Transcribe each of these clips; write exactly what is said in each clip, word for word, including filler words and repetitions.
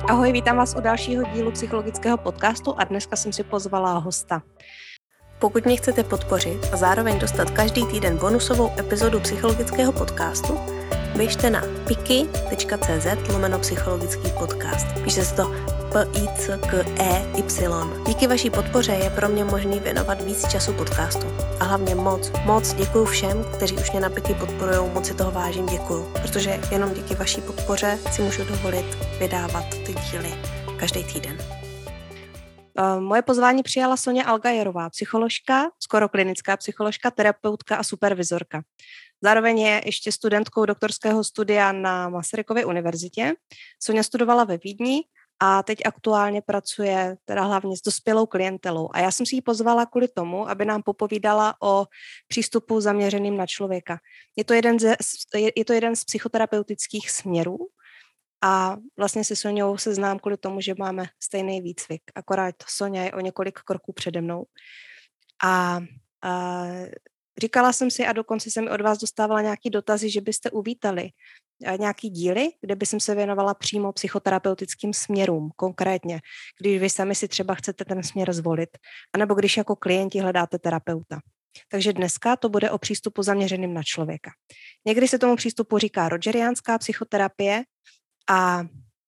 Ahoj, vítám vás u dalšího dílu psychologického podcastu a dneska jsem si pozvala hosta. Pokud mě chcete podpořit a zároveň dostat každý týden bonusovou epizodu psychologického podcastu, běžte na piki.cz lomeno psychologický podcast. Píše se to P I C K E Y. Díky vaší podpoře je pro mě možný věnovat víc času podcastu. A hlavně moc, moc děkuju všem, kteří už mě na Piki podporujou, moc si toho vážím, děkuju. Protože jenom díky vaší podpoře si můžu dovolit vydávat ty díly každý týden. Moje pozvání přijala Soňa Algajerová, psycholožka, skoro klinická psycholožka, terapeutka a supervizorka. Zároveň je ještě studentkou doktorského studia na Masarykově univerzitě. Soňa studovala ve Vídni a teď aktuálně pracuje teda hlavně s dospělou klientelou. A já jsem si ji pozvala kvůli tomu, aby nám popovídala o přístupu zaměřeným na člověka. Je to jeden, ze, je to jeden z psychoterapeutických směrů a vlastně se Soňou se znám kvůli tomu, že máme stejný výcvik. Akorát Soňa je o několik kroků přede mnou. A, a říkala jsem si a dokonce jsem od vás dostávala nějaký dotazy, že byste uvítali nějaký díly, kde by jsem se věnovala přímo psychoterapeutickým směrům, konkrétně, když vy sami si třeba chcete ten směr zvolit, anebo když jako klienti hledáte terapeuta. Takže dneska to bude o přístupu zaměřeným na člověka. Někdy se tomu přístupu říká rogeriánská psychoterapie a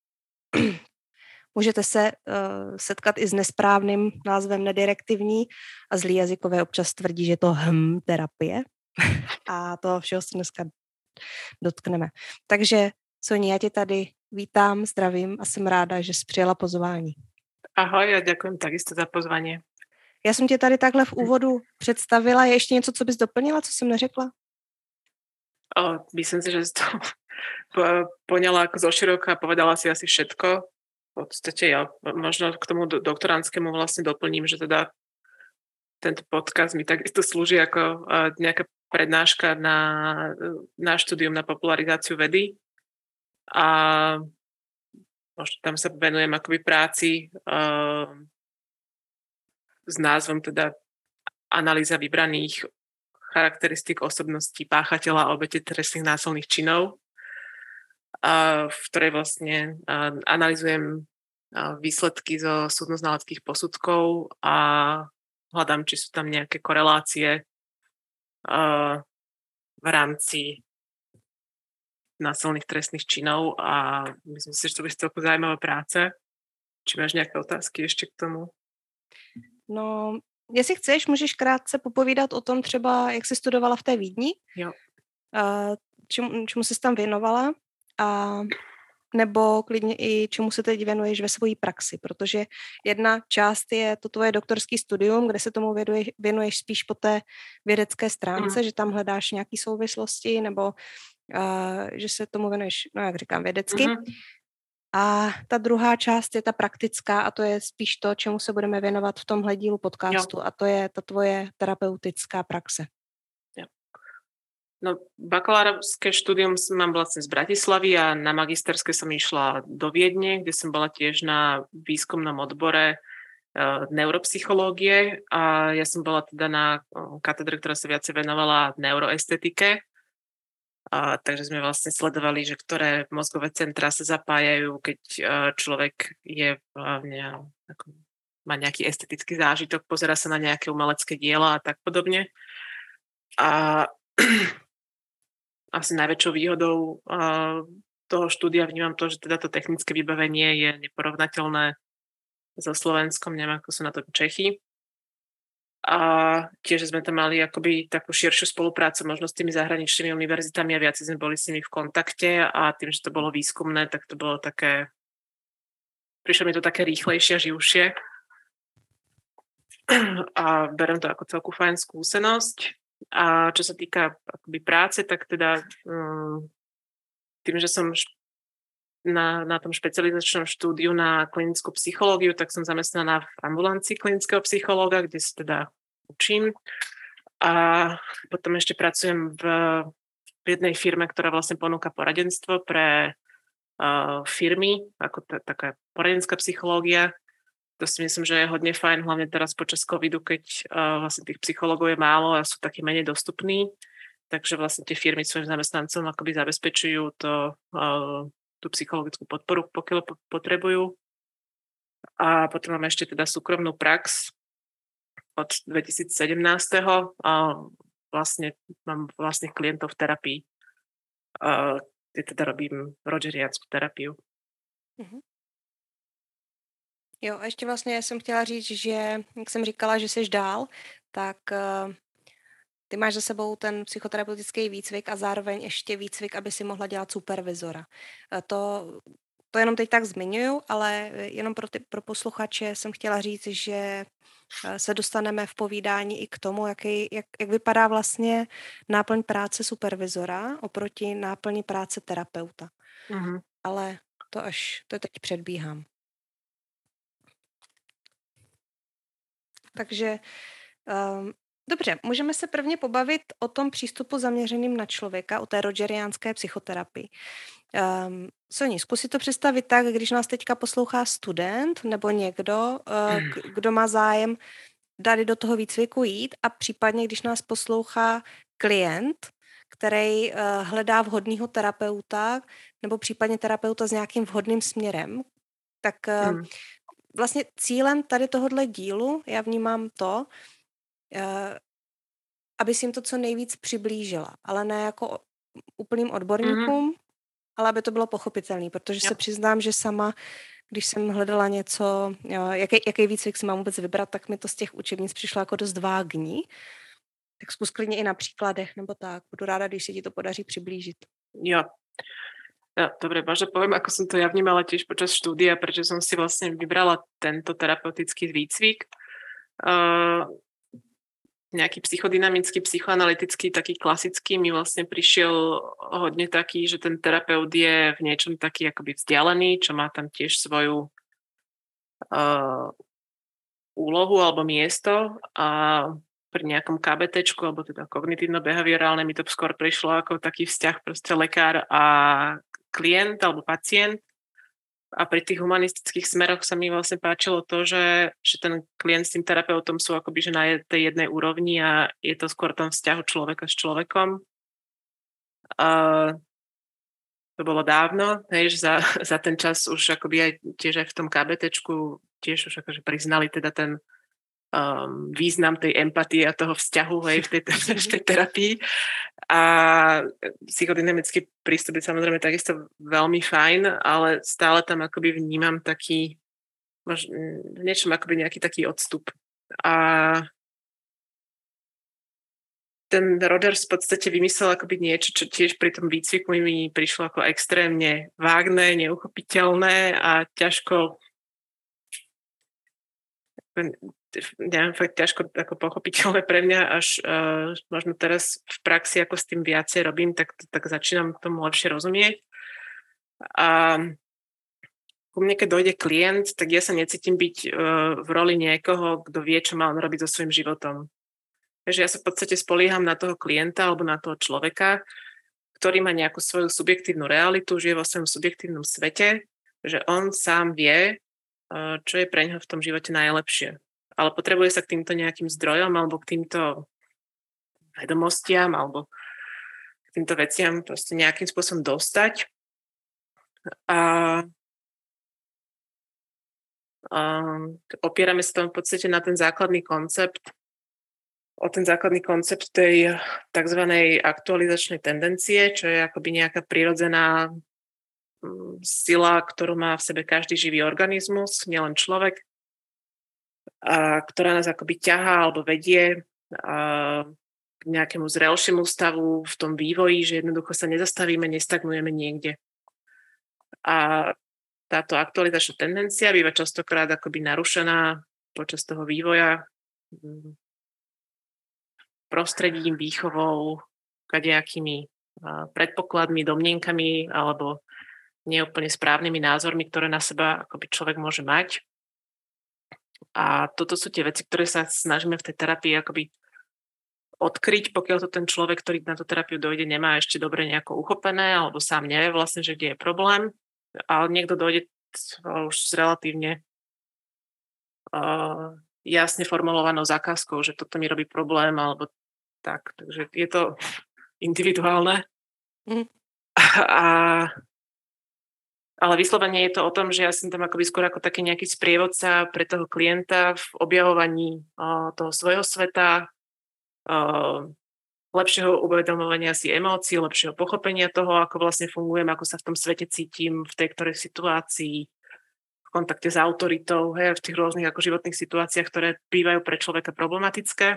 můžete se uh, setkat i s nesprávným názvem nedirektivní a zlí jazykové občas tvrdí, že je to hm terapie a to všeho se dneska dotkneme. Takže Soni, já tě tady vítám, zdravím a jsem ráda, že jsi přijala pozvání. Ahoj a ďakujem takisto za pozvání. Já jsem tě tady takhle v úvodu představila. Je ještě něco, co bys doplnila, co jsem neřekla? O, myslím si, že jsi to poňala ako zoširoka a povedala si asi všetko. V podstate ja možno k tomu doktorantskému vlastne doplním, že teda tento podcast mi takisto slúži ako nejaká prednáška na, na štúdium, na popularizáciu vedy a možno tam sa venujem akoby práci uh, s názvom teda analýza vybraných charakteristík osobností páchateľa a obete trestných násilných činov, uh, v ktorej vlastne uh, analyzujem uh, výsledky zo súdno-znaleckých posudkov a hľadám, či sú tam nejaké korelácie uh, v rámci násilných trestných činov a myslím si, že to bude celku zaujímavá práce. Či máš nejaké otázky ešte k tomu? No, jestli chceš, můžeš krátce popovídat o tom třeba, jak jsi studovala v té Vídni, jo. Uh, čemu, čemu jsi tam věnovala a nebo klidně i čemu se teď věnuješ ve své praxi, protože jedna část je to tvoje doktorský studium, kde se tomu věnuješ, věnuješ spíš po té vědecké stránce, mm. že tam hledáš nějaké souvislosti, nebo uh, že se tomu věnuješ, no jak říkám, vědecky. Mm. A ta druhá část je ta praktická a to je spíš to, čemu se budeme věnovat v tomhle dílu podcastu jo. A to je ta tvoje terapeutická praxe. No, bakalárske štúdium mám vlastne z Bratislavy a na magisterské som išla do Viedne, kde som bola tiež na výskumnom odbore e, neuropsychológie a ja som bola teda na katedre, ktorá sa viacej venovala neuroestetike. A, takže sme vlastne sledovali, že ktoré mozgové centrá sa zapájajú, keď e, človek je hlavne ako, má nejaký estetický zážitok, pozerá sa na nejaké umelecké diela a tak podobne. A asi najväčšou výhodou uh, toho štúdia vnímam to, že teda to technické vybavenie je neporovnateľné so Slovenskom, neviem, ako sú na to Čechy. A tiež sme tam mali akoby takú širšiu spoluprácu možno s tými zahraničnými univerzitami a viac sme boli s nimi v kontakte a tým, že to bolo výskumné, tak to bolo také, prišlo mi to také rýchlejšie a živšie. A berem to ako celku fajn skúsenosť. A čo sa týka akoby práce, tak teda um, tým, že som na, na tom špecializačnom štúdiu na klinickú psychológiu, tak som zamestnaná v ambulancii klinického psychológa, kde sa teda učím. A potom ešte pracujem v, v jednej firme, ktorá vlastne ponúka poradenstvo pre uh, firmy, ako t- taká poradenská psychológia. To si myslím, že je hodne fajn, hlavne teraz počas covidu, keď uh, vlastne tých psychológov je málo a sú takí menej dostupní. Takže vlastne tie firmy svojim zamestnancom akoby zabezpečujú to, uh, tú psychologickú podporu, pokiaľ po- potrebujú. A potom mám ešte teda súkromnú prax od dvetisícsedemnásť. A vlastne mám vlastných klientov v terapii. A ja teda robím rogeriánsku terapiu. Mhm. Jo, a ještě vlastně jsem chtěla říct, že jak jsem říkala, že jsi dál, tak uh, ty máš za sebou ten psychoterapeutický výcvik a zároveň ještě výcvik, aby si mohla dělat supervizora. Uh, to, to jenom teď tak zmiňuju, ale jenom pro, ty, pro posluchače jsem chtěla říct, že uh, se dostaneme v povídání i k tomu, jaký, jak, jak vypadá vlastně náplň práce supervizora oproti náplni práce terapeuta. Mhm. Ale to až, to teď předbíhám. Takže um, dobře, můžeme se prvně pobavit o tom přístupu zaměřeným na člověka, o té rogeriánské psychoterapii. Um, Soni, zkus si to představit tak, když nás teďka poslouchá student nebo někdo, uh, kdo má zájem tady do toho výcviku jít a případně, když nás poslouchá klient, který uh, hledá vhodného terapeuta nebo případně terapeuta s nějakým vhodným směrem, tak uh, Mm. vlastně cílem tady tohohle dílu já vnímám to, uh, aby si jim to co nejvíc přiblížila, ale ne jako úplným odborníkům, Mhm. ale aby to bylo pochopitelné, protože Jo. se přiznám, že sama, když jsem hledala něco, jo, jaký, jaký výcvik si mám vůbec vybrat, tak mi to z těch učebnic přišlo jako dost vágní. Tak zkus klidně i na příkladech, nebo tak. Budu ráda, když se ti to podaří přiblížit. Jo. Ja, dobre, možno poviem, ako som to ja vnímala tiež počas štúdia, prečo som si vlastne vybrala tento terapeutický výcvik. Uh, nejaký psychodynamický, psychoanalytický, taký klasický mi vlastne prišiel hodne taký, že ten terapeut je v niečom taký akoby vzdialený, čo má tam tiež svoju uh, úlohu alebo miesto a pri nejakom ká bé téčku, alebo teda kognitívno-behaviorálne mi to skôr prišlo ako taký vzťah proste lekár a klient alebo pacient. A pri tých humanistických smeroch sa mi vlastne páčilo to, že, že ten klient s tým terapeutom sú akoby že na tej jednej úrovni a je to skôr tom vzťahu človeka s človekom. A to bolo dávno, hej, že za, za ten čas už akoby aj tiež aj v tom ká bé téčku tiež už akože priznali teda ten Um, význam tej empatie a toho vzťahu hej, v, tej, v tej terapii. A psychodynamický prístup je samozrejme takisto veľmi fajn, ale stále tam akoby vnímam taký, možno, v niečom akoby nejaký taký odstup. A ten Rogers v podstate vymyslel akoby niečo, čo tiež pri tom výcviku mi prišlo ako extrémne vágne, neuchopiteľné a ťažko neviem, fakt ťažko ako pochopiteľné pre mňa, až uh, možno teraz v praxi, ako s tým viacej robím, tak, tak začínam tomu lepšie rozumieť. A ku mne, keď dojde klient, tak ja sa necítim byť uh, v roli niekoho, kto vie, čo má on robiť so svojím životom. Takže ja sa v podstate spolieham na toho klienta alebo na toho človeka, ktorý má nejakú svoju subjektívnu realitu, žije vo svojom subjektívnom svete, že on sám vie, uh, čo je pre ňoho v tom živote najlepšie. Ale potrebuje sa k týmto nejakým zdrojom alebo k týmto vedomostiam alebo k týmto veciam proste nejakým spôsobom dostať. A, a opierame sa tam v podstate na ten základný koncept, o ten základný koncept tej tzv. Aktualizačnej tendencie, čo je akoby nejaká prirodzená sila, ktorú má v sebe každý živý organizmus, nielen človek, a ktorá nás akoby ťahá alebo vedie a k nejakému zrelšiemu stavu v tom vývoji, že jednoducho sa nezastavíme, nestagnujeme niekde. A táto aktualizačná tendencia býva častokrát akoby narušená počas toho vývoja prostredím, výchovou, kadejakými predpokladmi, domnienkami alebo neúplne správnymi názormi, ktoré na seba akoby človek môže mať. A toto sú tie veci, ktoré sa snažíme v tej terapii akoby odkryť, pokiaľ to ten človek, ktorý na tú terapiu dojde, nemá ešte dobre nejako uchopené, alebo sám nevie vlastne, že kde je problém. Ale niekto dojde už s relatívne uh, jasne formulovanou zákazkou, že toto mi robí problém, alebo tak. Takže je to individuálne. Mm. A Ale vyslovene je to o tom, že ja som tam akoby skôr ako taký nejaký sprievodca pre toho klienta v objavovaní o, toho svojho sveta, o, lepšieho uvedomovania si emócií, lepšieho pochopenia toho, ako vlastne fungujem, ako sa v tom svete cítim, v tej ktorej situácii, v kontakte s autoritou, hej, v tých rôznych ako životných situáciách, ktoré bývajú pre človeka problematické.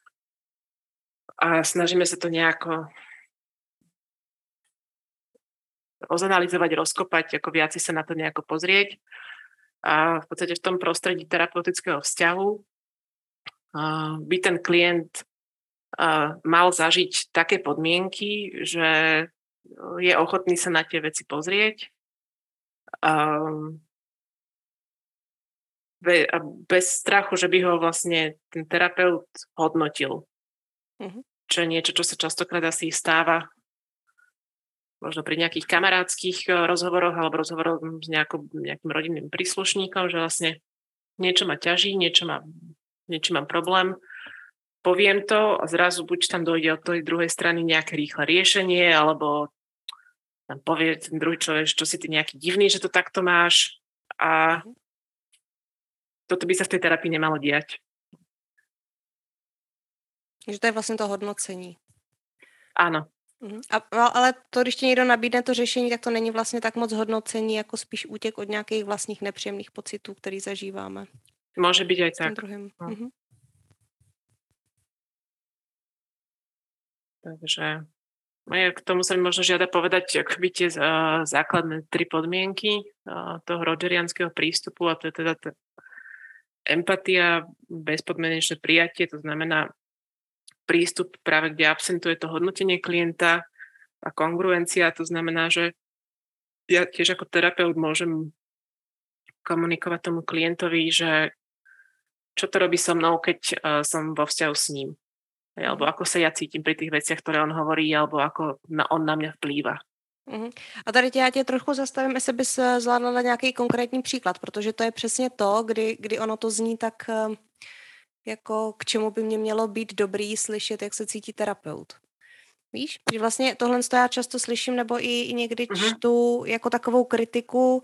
A snažíme sa to nejako rozanalizovať, rozkopať, ako viac sa na to nejako pozrieť. A v podstate v tom prostredí terapeutického vzťahu by ten klient mal zažiť také podmienky, že je ochotný sa na tie veci pozrieť a bez strachu, že by ho vlastne ten terapeut hodnotil. Mm-hmm. Čo je niečo, čo sa častokrát asi stáva možno pri nejakých kamarádskych rozhovoroch alebo rozhovoroch s nejakou, nejakým rodinným príslušníkom, že vlastne niečo ma ťaží, niečo, má, niečo mám problém, poviem to a zrazu buď tam dojde od tej druhej strany nejaké rýchle riešenie, alebo tam povie ten druhý človek, čo si ty nejaký divný, že to takto máš a toto by sa v tej terapii nemalo diať. Že to je vlastně to hodnocení. Áno. A, ale to, když ti někdo nabídne to řešení, tak to není vlastně tak moc hodnocení, jako spíš útěk od nějakých vlastních nepříjemných pocitů, který zažíváme. Môže byť aj tak. Druhým. No. Mhm. Takže k tomu sa mi možno žiada povedať akoby tie uh, základné tri podmienky uh, toho rogerianského prístupu, a to je teda tá empatia, bezpodmienečné prijatie, to znamená prístup práve, kde absentuje to hodnotenie klienta, a kongruencia, to znamená, že ja tiež ako terapeut môžem komunikovať tomu klientovi, že čo to robí so mnou, keď uh, som vo vzťahu s ním. Alebo ako sa ja cítim pri tých veciach, ktoré on hovorí, alebo ako na, on na mňa vplýva. Uh-huh. A tady tě, já tě trochu zastavím, jestli bys zvládla nějaký konkrétní příklad, protože to je přesně to, kdy, kdy ono to zní tak, jako k čemu by mě mělo být dobrý slyšet, jak se cítí terapeut. Víš? Že vlastně tohle já často slyším, nebo i, i někdy uh-huh. čtu jako takovou kritiku,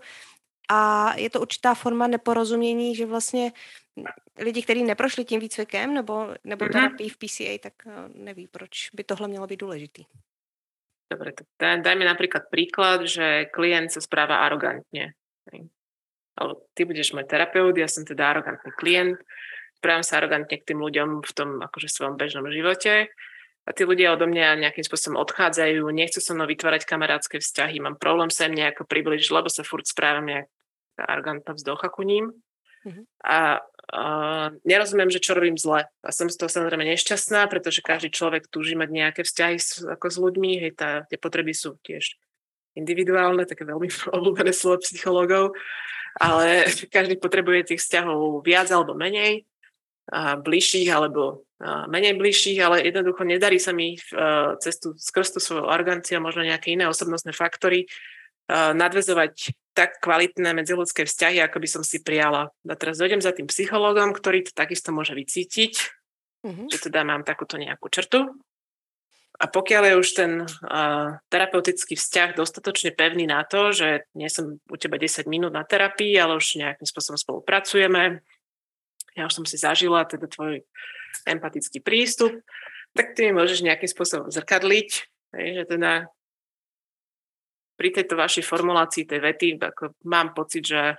a je to určitá forma neporozumění, že vlastně lidi, kteří neprošli tím výcvikem nebo, nebo terapii v P C A, tak neví, proč by tohle mělo být důležitý. Dobre, tak dajme napríklad príklad, že klient sa správa arogantne. Alebo ty budeš môj terapeut, ja som teda arogantný klient, správam sa arogantne k tým ľuďom v tom akože svojom bežnom živote a tí ľudia odo mňa nejakým spôsobom odchádzajú, nechcú so mnou vytvárať kamarátske vzťahy, mám problém sa im nejako približiť, lebo sa furt správam nejak arogantná vzdocha ku ním. Mm-hmm. A Uh, nerozumiem, že čo robím zle. A som z toho samozrejme nešťastná, pretože každý človek túži mať nejaké vzťahy s, ako s ľuďmi. Hej, tá, tie potreby sú tiež individuálne, také veľmi obľúbené slovo psychológov, ale každý potrebuje tých vzťahov viac alebo menej, a bližších alebo a menej bližších, ale jednoducho nedarí sa mi uh, cestu skrz tú svoju aroganciu a možno nejaké iné osobnostné faktory uh, nadväzovať tak kvalitné medziľudské vzťahy, ako by som si prijala. A teraz dojdem za tým psychológom, ktorý to takisto môže vycítiť, mm-hmm. že teda mám takúto nejakú črtu. A pokiaľ je už ten uh, terapeutický vzťah dostatočne pevný na to, že nie som u teba desať minút na terapii, ale už nejakým spôsobom spolupracujeme, ja už som si zažila teda tvoj empatický prístup, tak ty mi môžeš nejakým spôsobom zrkadliť, že teda pri tejto vašej formulácii tej vety ako mám pocit, že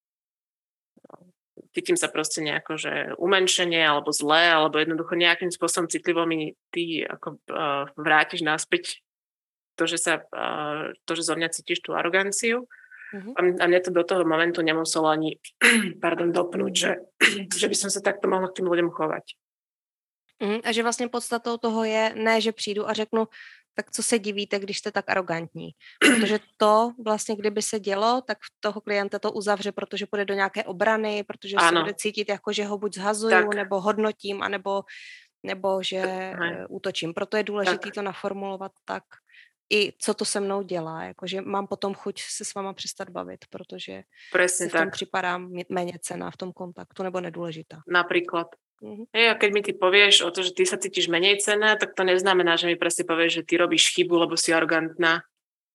cítim sa proste nejako, že umenšenie alebo zlé, alebo jednoducho nejakým spôsobom citlivo mi ty ako uh, vrátiš naspäť to, že sa uh, to, že zo mňa cítiš tú aroganciu. Uh-huh. A mne to do toho momentu nemuselo ani pardon, dopnúť, že, že by som sa takto mohla k tým ľuďom chovať. Uh-huh. A že vlastne podstatou toho je, ne, že přijdu a řeknu, tak co se divíte, když jste tak arrogantní. Protože to vlastně, kdyby se dělo, tak toho klienta to uzavře, protože půjde do nějaké obrany, protože ano. se bude cítit jako, že ho buď zhazuju, tak. nebo hodnotím, anebo, nebo že tak. útočím. Proto je důležité to naformulovat tak, i co to se mnou dělá. Jakože mám potom chuť se s váma přestat bavit, protože Presne si v tom tak. připadám méně cenná v tom kontaktu, nebo nedůležitá. Napríklad. Uh-huh. Hej, a keď mi ty povieš o to, že ty sa cítiš menej cenná, tak to neznamená, že mi presne povieš, že ty robíš chybu, lebo si arogantná.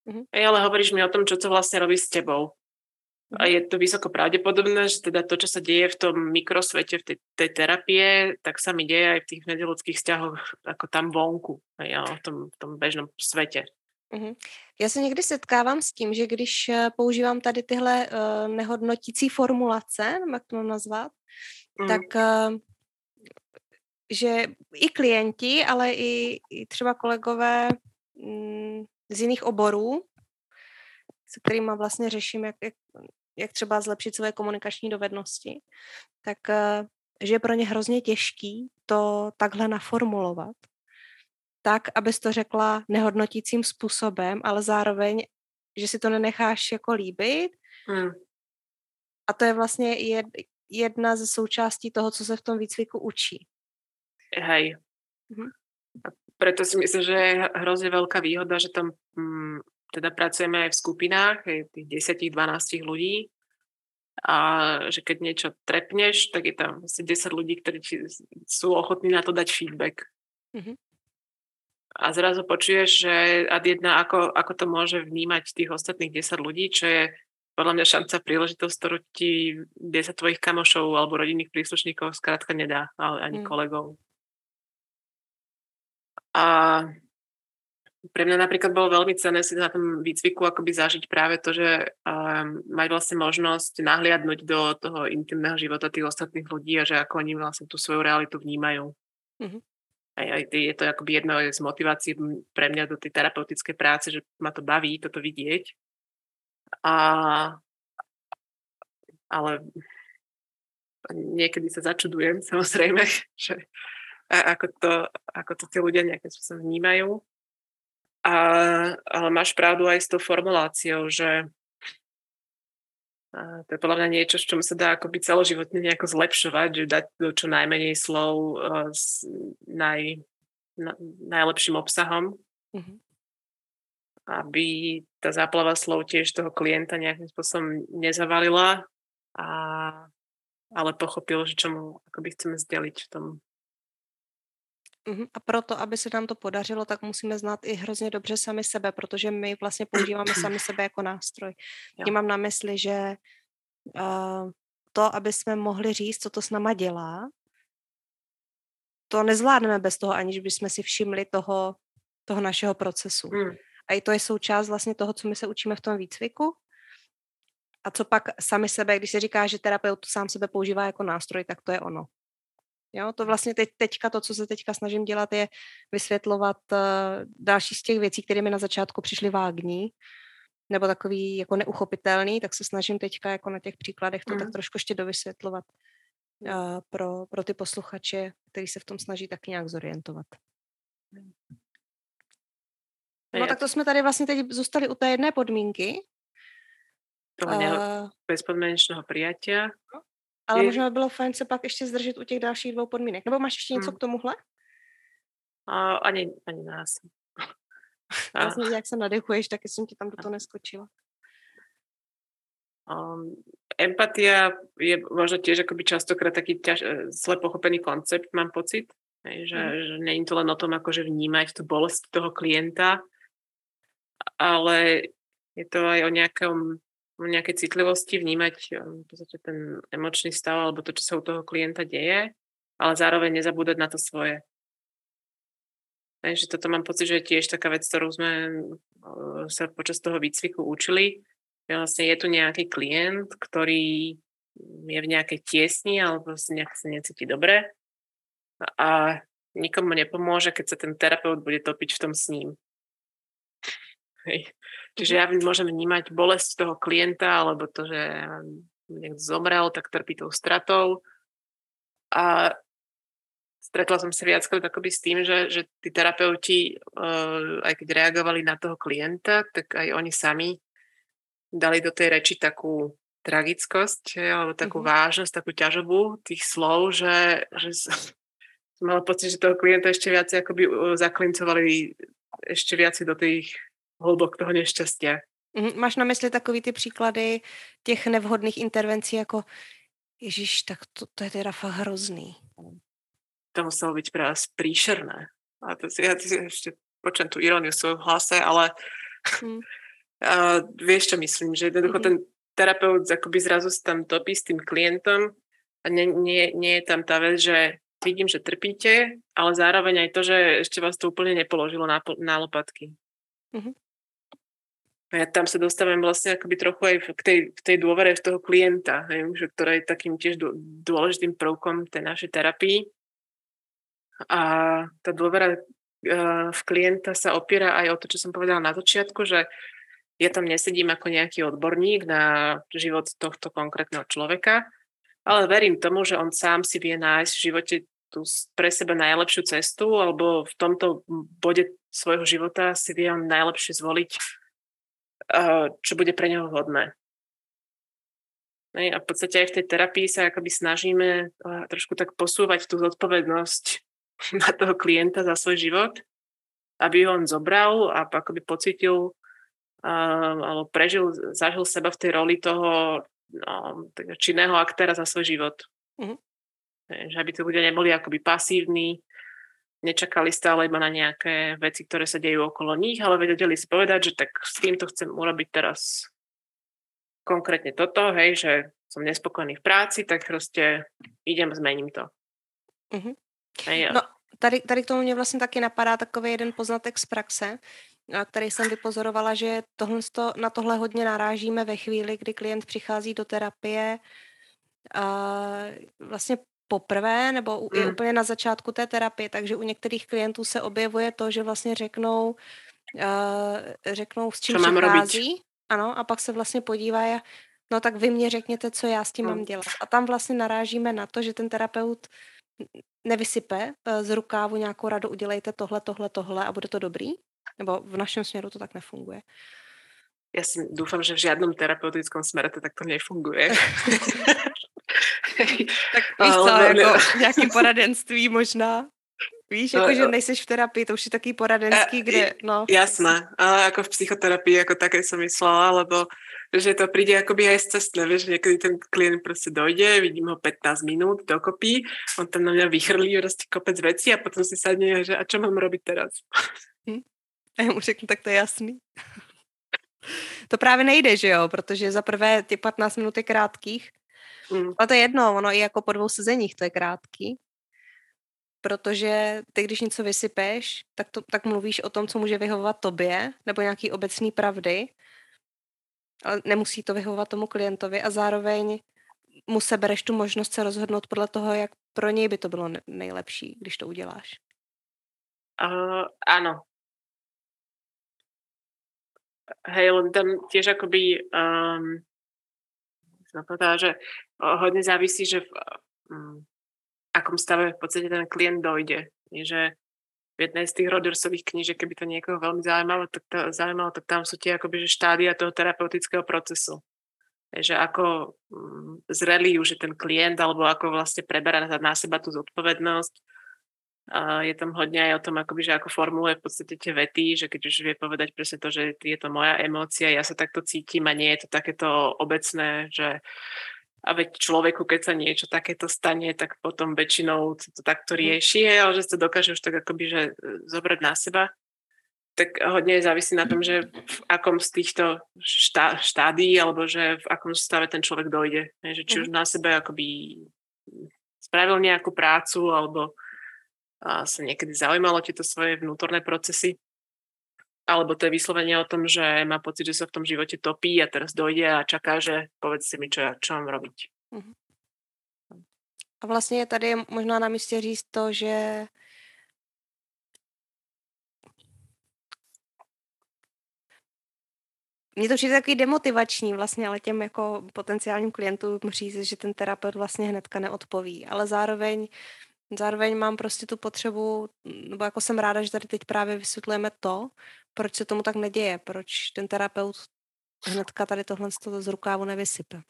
Uh-huh. Ej, ale hovoríš mi o tom, čo to vlastne robí s tebou. A je to vysoko pravdepodobné, že teda to, čo sa deje v tom mikrosvete, v tej, tej terapie, tak sa mi deje aj v tých medziľudských vzťahoch, ako tam vonku, aj v tom, v tom bežnom svete. Uh-huh. Já se někdy setkávám s tím, že když používám tady tyhle uh, nehodnotící formulace, jak to mám nazvat, mm. tak uh, že i klienti, ale i, i třeba kolegové mm, z jiných oborů, se kterými vlastně řeším, jak, jak, jak třeba zlepšit své komunikační dovednosti, tak uh, že je pro ně hrozně těžký to takhle naformulovat, tak, abys to řekla nehodnotícím způsobem, ale zároveň, že si to nenecháš jako líbit. Hmm. A to je vlastně jed, jedna ze součástí toho, co se v tom výcviku učí. Hej. Mhm. A preto si myslím, že je hrozne veľká výhoda, že tam mm, teda pracujeme aj v skupinách, aj tých desať dvanásť ľudí. A že keď niečo trepneš, tak je tam asi desať ľudí, ktorí sú ochotní na to dať feedback. Mhm. A zrazu počuješ, že ad jedna, ako, ako to môže vnímať tých ostatných desať ľudí, čo je podľa mňa šanca, príležitosť, ktorú ti desať tvojich kamošov alebo rodinných príslušníkov skrátka nedá, ale ani mm. kolegov. A pre mňa napríklad bolo veľmi cenné si na tom výcviku akoby zažiť práve to, že um, mať vlastne možnosť nahliadnúť do toho intimného života tých ostatných ľudí a že ako oni vlastne tú svoju realitu vnímajú. Mm-hmm. Aj, aj je to akoby jedno z motivácií pre mňa do tej terapeutickej práce, že ma to baví toto vidieť. A, ale niekedy sa začudujem, samozrejme, že ako to, ako to tí ľudia nejakým spôsobom vnímajú. A, ale máš pravdu aj s tou formuláciou, že a to je podľa mňa niečo, s čom sa dá akoby celoživotne nejako zlepšovať, že dať do čo najmenej slov uh, s naj, na, najlepším obsahom, mm-hmm. aby tá záplava slov tiež toho klienta nejakým spôsobom nezavalila, a, ale pochopil, že čo mu akoby chceme zdeliť v tom. A proto, aby se nám to podařilo, tak musíme znát i hrozně dobře sami sebe, protože my vlastně používáme sami sebe jako nástroj. Tím mám na mysli, že uh, to, aby jsme mohli říct, co to s náma dělá, to nezvládneme bez toho, aniž bychom si všimli toho, toho našeho procesu. Hmm. A i to je součást vlastně toho, co my se učíme v tom výcviku. A co pak sami sebe, když se říká, že terapeut sám sebe používá jako nástroj, tak to je ono. Jo, to vlastně teď, teďka, to, co se teďka snažím dělat, je vysvětlovat uh, další z těch věcí, které mi na začátku přišly vágní, nebo takový jako neuchopitelný, tak se snažím teďka jako na těch příkladech to mm. tak trošku ještě dovysvětlovat uh, pro, pro ty posluchače, kteří se v tom snaží taky nějak zorientovat. No tak to jsme tady vlastně teď zůstali u té jedné podmínky. Toho uh, bezpodmienečného prijatia. Ale je... možná by bylo fajn se pak ještě zdržet u těch dalších dvou podmínek. Nebo máš ještě něco hmm. k tomuhle? A, ani, ani nás. A... Vlastně, jak se nadechuješ, tak jsem ti tam do toho neskočila. Um, empatia je možno tiež akoby častokrát taký ťaž, zle pochopený koncept, mám pocit. Hej, že, hmm. že nie je to len o tom, akože vnímať tú bolesť toho klienta, ale je to aj o nejakom nejakej citlivosti, vnímať v podstate ten emočný stav alebo to, čo sa u toho klienta deje, ale zároveň nezabúdať na to svoje. Takže toto mám pocit, že je tiež taká vec, ktorú sme sa počas toho výcviku učili. Vlastne je tu nejaký klient, ktorý je v nejakej tiesni alebo sa nejak sa necíti dobre a nikomu nepomôže, keď sa ten terapeut bude topiť v tom s ním. Hej. Čiže ja môžem vnímať bolesť toho klienta, alebo to, že niekto zomrel, tak trpí tou stratou. A stretla som sa viackrát akoby s tým, že, že tí terapeuti, uh, aj keď reagovali na toho klienta, tak aj oni sami dali do tej reči takú tragickosť, alebo takú mm-hmm. vážnosť, takú ťažobu tých slov, že, že som mala pocit, že toho klienta ešte viac akoby zaklincovali ešte viac do tých hlubok toho nešťastia. Máš na mysli takový ty příklady těch nevhodných intervencí jako Ježiš, tak to, to je teda fakt hrozný. To muselo byť pre vás príšerné. A to si, ja si ešte počujem tú iróniu v svojom hlase, ale, hmm. Uh, vieš, čo myslím, že jednoducho ten terapeut akoby zrazu sa tam topí s tým klientom a nie, nie, nie je tam tá vec, že vidím, že trpíte, ale zároveň aj to, že ešte vás to úplne nepoložilo na, na lopatky. Mm-hmm. Ja tam sa dostávam vlastne akoby trochu aj k tej, k tej dôvere v toho klienta, hej, že, ktorá je takým tiež dôležitým prvkom tej našej terapii. A tá dôvera uh, v klienta sa opiera aj o to, čo som povedala na začiatku, že ja tam nesedím ako nejaký odborník na život tohto konkrétneho človeka, ale verím tomu, že on sám si vie nájsť v živote tú pre seba najlepšiu cestu, alebo v tomto bode svojho života si vie on najlepšie zvoliť, čo bude pre neho vhodné. A v podstate aj v tej terapii sa akoby snažíme trošku tak posúvať tú zodpovednosť na toho klienta za svoj život, aby ho on zobral a akoby pocítil Uh, alebo prežil, zažil seba v tej roli toho no, činného aktéra za svoj život. Uh-huh. Že aby tí ľudia neboli akoby pasívni, nečakali stále iba na nejaké veci, ktoré sa dejú okolo nich, ale vedeli si povedať, že tak s týmto chcem urobiť teraz konkrétne toto, hej, že som nespokojný v práci, tak proste idem, zmením to. Uh-huh. Hej, no, tady, tady k tomu mě vlastně taky napadá takový jeden poznatek z praxe, který jsem vypozorovala, že tohle, na tohle hodně narážíme ve chvíli, kdy klient přichází do terapie a vlastně poprvé nebo je mm. úplně na začátku té terapie, takže u některých klientů se objevuje to, že vlastně řeknou, uh, řeknou s čím přichází, ano, a pak se vlastně podívají, no tak vy mě řekněte, co já s tím mm. mám dělat. A tam vlastně narážíme na to, že ten terapeut nevysype z rukávu nějakou radu, udělejte tohle, tohle, tohle a bude to dobrý. Nebo v našom smeru to tak nefunguje. Ja si dúfam, že v žiadnom terapeutickom smere to takto nefunguje. Tak víš co, ale jako nejaké poradenství možná. Víš, jako, že nejseš v terapii, to už je taký poradenský, kde, no. Jasné, ale ako v psychoterapii, ako také som myslela, lebo že to príde akoby aj cestné, vieš, niekedy ten klient proste dojde, vidím ho pätnásť minút dokopy, on tam na mňa vychrlí proste kopec vecí a potom si sadne, že a čo mám robiť teraz? Hm? A já mu řeknu, tak to je jasný. To právě nejde, že jo, protože za prvé ty patnáct minut je krátkých, mm. ale to je jedno, ono i jako po dvou sezeních to je krátký, protože ty, když něco vysypeš, tak, to, tak mluvíš o tom, co může vyhovovat tobě, nebo nějaký obecný pravdy, ale nemusí to vyhovovat tomu klientovi a zároveň mu sebereš tu možnost se rozhodnout podle toho, jak pro něj by to bylo nejlepší, když to uděláš. Uh, áno. Hej, len tam tiež akoby um, som povedala, že hodne závisí, že v um, akom stave v podstate ten klient dojde. Že v jednej z tých Rogersových knížek, keby to niekoho veľmi zaujímalo, tak, to, zaujímalo, tak tam sú tie akoby, že štádia toho terapeutického procesu. Že ako um, zrelý už je ten klient, alebo ako vlastne preberá na seba tú zodpovednosť. A je tam hodne aj o tom, akoby, že ako formuluje v podstate tie vety, že keď už vie povedať presne to, že je to moja emócia, ja sa takto cítim a nie je to takéto obecné, že a veď človeku, keď sa niečo takéto stane, tak potom väčšinou to takto rieši, ale že sa dokáže už tak akoby, že zobrať na seba. Tak hodne závisí na tom, že v akom z týchto štá, štádií, alebo že v akom stave ten človek dojde. Že či už na sebe akoby spravil nejakú prácu, alebo a sa niekedy zaujímalo tieto svoje vnútorné procesy, alebo to je vyslovene o tom, že má pocit, že sa v tom živote topí a teraz dojde a čaká, že povedzte mi, čo, ja, čo mám robiť. Uh-huh. A vlastně je tady možná na místě říct to, že mně to přijde takový demotivační vlastně, ale těm jako potenciálním klientům říct, že ten terapeut vlastně hnedka neodpoví, ale zároveň Zároveň mám prostě tu potřebu, nebo jako jsem ráda, že tady teď právě vysvětlujeme to, proč se tomu tak neděje, proč ten terapeut hnedka tady tohle z rukávu nevysype.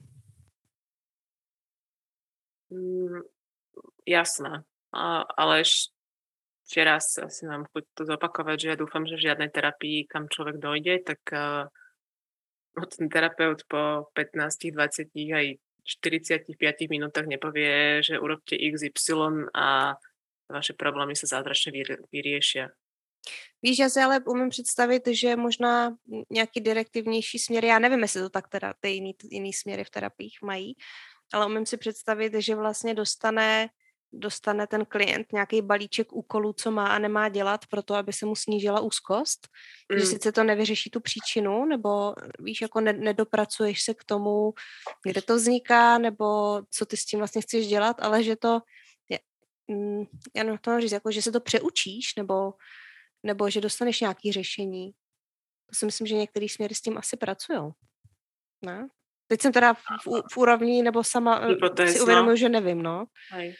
Mm, jasné, a, ale ešte raz asi mám chuť to zopakovať, že ja dúfam, že v žiadnej terapii, kam človek dojde, tak uh, ten terapeut po pätnásť, dvadsať aj štyridsaťpäť minútach nepovie, že urobte iks ypsilon a vaše problémy sa zázračne vyriešia. Víš, já si ale umím představit, že možná nějaký direktivnější směry, já nevím, jestli to tak teda ty jiný, jiný směry v terapiích mají, ale umím si představit, že vlastně dostane, dostane ten klient nějaký balíček úkolů, co má a nemá dělat pro to, aby se mu snížila úzkost, mm. že sice to nevyřeší tu příčinu, nebo víš, jako ne, nedopracuješ se k tomu, kde to vzniká, nebo co ty s tím vlastně chceš dělat, ale že to, je, mm, já nevím, to mám říct, jako, že se to přeučíš, nebo nebo že dostaneš nějaké řešení. To si myslím, že některý směry s tím asi pracujou. Ne? Teď jsem teda v, v, v úrovni, nebo sama Hypotéz, si uvědomuji, no. že nevím, no. Hej.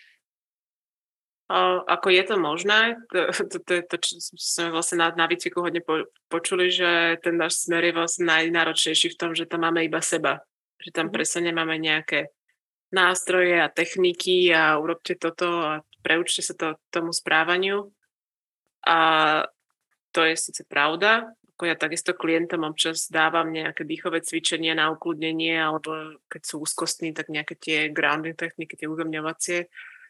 O, ako je to možné? To, to, to, to čo sme vlastne na, na výcviku hodne po, počuli, že ten náš smer je vlastne najnáročnejší v tom, že tam máme iba seba. Že tam mm-hmm. presne nemáme nejaké nástroje a techniky a urobte toto a preučte sa to tomu správaniu. A to je síce pravda, ako ja takisto klientom občas dávam nejaké dýchové cvičenie na ukludnenie, alebo keď sú úzkostní, tak nejaké tie grounding techniky, tie uzemňovacie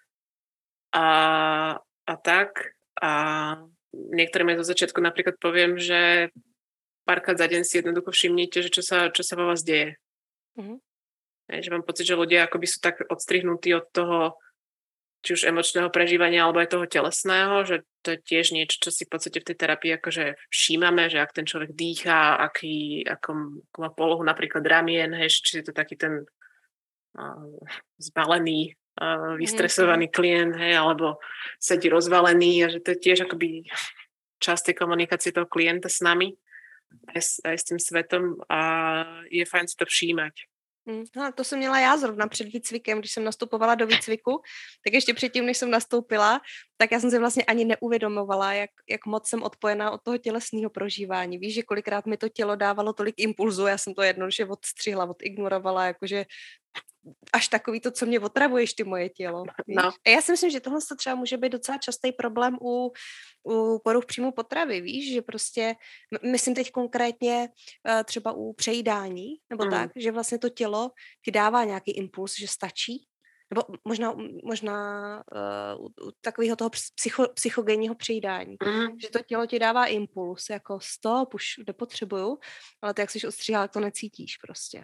a, a tak. A niektorým aj zo začiatku napríklad poviem, že párkrát za deň si jednoducho všimnite, že čo sa, čo sa vo vás deje. Mm-hmm. Že mám pocit, že ľudia akoby sú tak odstrihnutí od toho či už emočného prežívania, alebo aj toho telesného, že to je tiež niečo, čo si v podstate v tej terapii akože všímame, že ak ten človek dýchá, aký, ako, ako má polohu napríklad ramien, hej, či je to taký ten uh, zbalený, uh, vystresovaný mm-hmm. klient, hej, alebo sedí rozvalený a že to je tiež akoby časť tej komunikácie toho klienta s nami, aj s, aj s tým svetom a je fajn si to všímať. No, to jsem měla já zrovna před výcvikem, když jsem nastupovala do výcviku, tak ještě předtím, než jsem nastoupila, tak já jsem si vlastně ani neuvědomovala, jak, jak moc jsem odpojená od toho tělesného prožívání. Víš, že kolikrát mi to tělo dávalo tolik impulzů, já jsem to jednoduše odstřihla, odignorovala, jakože až takový to, co mě otravuješ, ty moje tělo. No. A já si myslím, že tohle třeba může být docela častý problém u, u poruch příjmu potravy, víš, že prostě, myslím teď konkrétně třeba u přejídání, nebo mm. tak, že vlastně to tělo ti dává nějaký impuls, že stačí, nebo možná, možná uh, u takového toho psycho, psychogenního přejídání, mm. že to tělo ti dává impuls, jako stop, už nepotřebuju, ale ty jak jsi ostříhala, to necítíš prostě.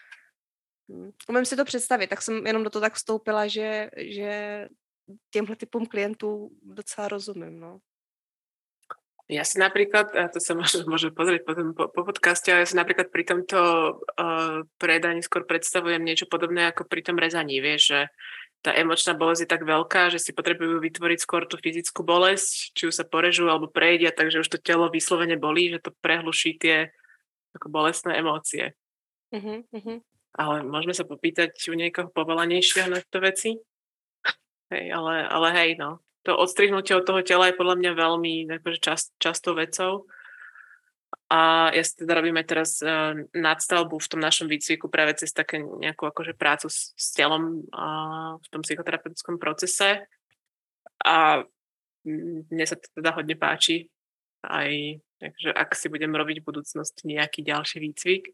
Umím si to představit, tak jsem jenom do toho tak vstoupila, že, že těmhle typům klientů docela rozumím, no. Ja si napríklad, a to sa môžem, môžem pozrieť potom po, po podcaste, ale ja si napríklad pri tomto uh, predaní skôr predstavujem niečo podobné ako pri tom rezaní, vieš, že tá emočná bolesť je tak veľká, že si potrebujú vytvoriť skôr tú fyzickú bolesť, či už sa porežú alebo prejedia, takže už to telo vyslovene bolí, že to prehluší tie ako bolestné emócie. Uh-huh, uh-huh. Ale môžeme sa popýtať u niekoho povolanejšieho na to veci. Hej, ale, ale hej, no. To odstrihnutie od toho tela je podľa mňa veľmi akože čas, častou vecou. A ja si teda robím aj teraz uh, nadstavbu v tom našom výcviku práve cez také nejakú akože prácu s, s telom uh, v tom psychoterapeutickom procese. A mne sa to teda hodne páči. Aj takže ak si budem robiť v budúcnosti nejaký ďalší výcvik,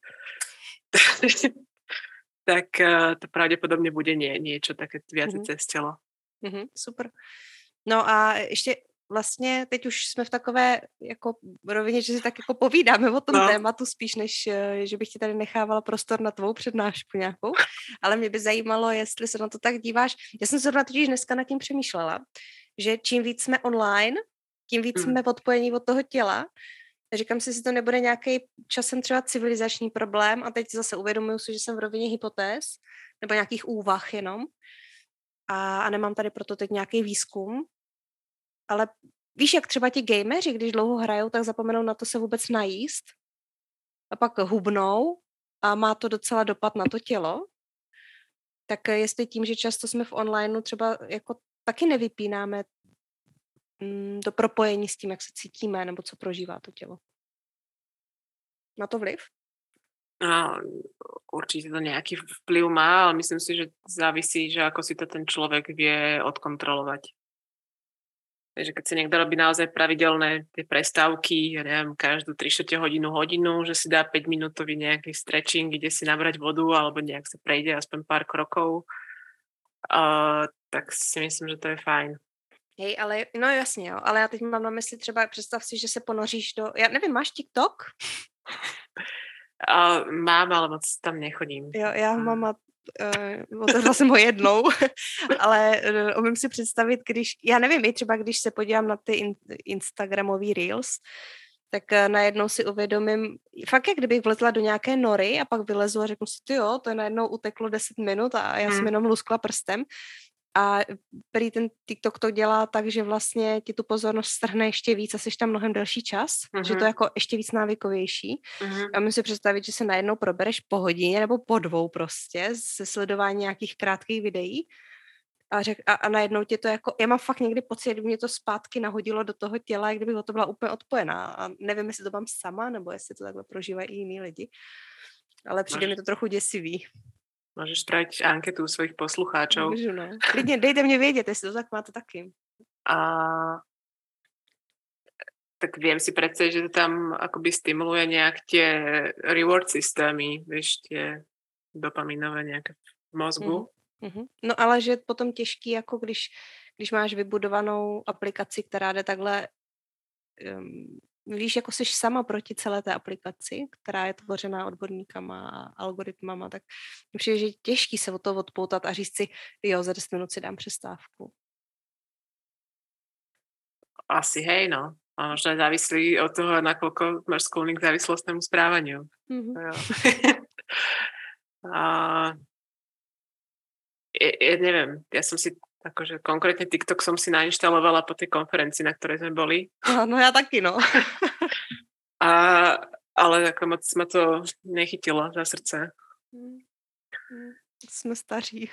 tak uh, to pravdepodobne bude nie, niečo také viac mm-hmm. cez telo. Mm-hmm, super. No a ještě vlastně teď už jsme v takové jako rovině, že si tak jako povídáme o tom no. tématu spíš, než že bych ti tady nechávala prostor na tvou přednášku nějakou, ale mě by zajímalo, jestli se na to tak díváš. Já jsem se zrovna totiž dneska nad tím přemýšlela, že čím víc jsme online, tím víc mm. jsme odpojení od toho těla. Říkám si, jestli to nebude nějaký časem třeba civilizační problém a teď zase uvědomuji si, že jsem v rovině hypotéz nebo nějakých úvah jenom a, a nemám tady proto teď nějaký výzkum. Ale víš, jak třeba ti gameři, když dlouho hrajou, tak zapomenou na to se vůbec najíst a pak hubnou a má to docela dopad na to tělo. Tak jestli tím, že často jsme v onlineu třeba jako taky nevypínáme mm, to propojení s tím, jak se cítíme nebo co prožívá to tělo. Má to vliv? No, určite to nejaký vplyv má, ale myslím si, že závisí, že ako si to ten človek vie odkontrolovať. Takže keď si niekto robí naozaj pravidelné tie prestávky, ja neviem, každú tri štvrte hodinu, hodinu, že si dá päť minútový nejaký stretching, ide si nabrať vodu alebo nejak sa prejde aspoň pár krokov, uh, tak si myslím, že to je fajn. Hej, ale no jasně, jo, ale já teď mám na mysli třeba, představ si, že se ponoříš do, já nevím, máš TikTok? Uh, mám, ale moc tam nechodím. Jo, já ho mám a uh, otevřela jsem ho jednou, ale uh, umím si představit, když, já nevím, i třeba když se podívám na ty in, Instagramový Reels, tak uh, najednou si uvědomím, fakt jak kdybych vlezla do nějaké nory a pak vylezu a řeknu si, ty jo, to je najednou uteklo deset minut a já hmm. jsem jenom luskla prstem. A prý ten TikTok to dělá tak, že vlastně ti tu pozornost strhne ještě víc a jsi tam mnohem delší čas, uh-huh. že to je jako ještě víc návykovější. Uh-huh. A můžu si představit, že se najednou probereš po hodině nebo po dvou prostě se sledování nějakých krátkých videí a, řek, a, a najednou tě to jako, já mám fakt někdy pocit, kdyby mě to zpátky nahodilo do toho těla, jak kdybych o to byla úplně odpojená a nevím, jestli to mám sama, nebo jestli to takhle prožívají i jiní lidi, ale přijde Máš... mi to trochu děsivý. Môžeš spraviť anketu svojich poslucháčov. Môžu, no. Klidne, dejte mne vedieť, jestli to tak máte taky. A tak viem si predstaviť, že to tam akoby stimuluje nejak tie reward systémy, vieš, tie dopaminové nejaké v mozgu. Mm-hmm. No ale že je potom těžký, jako když, když máš vybudovanou aplikaci, která jde takhle um, víš, jako jsi sama proti celé té aplikaci, která je tvořená odborníkama a algoritmama, tak přijde, že je těžký se od toho odpoutat a říct si, jo, za deset minut si dám přestávku. Asi hej, no. A možno závislí od toho, nakoľko máš sklony k závislostnému správaniu. Mm-hmm. a ja, ja neviem, ja som si akože konkrétne TikTok som si nainštalovala po tej konferencii, na ktorej sme boli. No, no ja taky, no. A, ale ako moc ma to nechytilo za srdce. Jsme staří.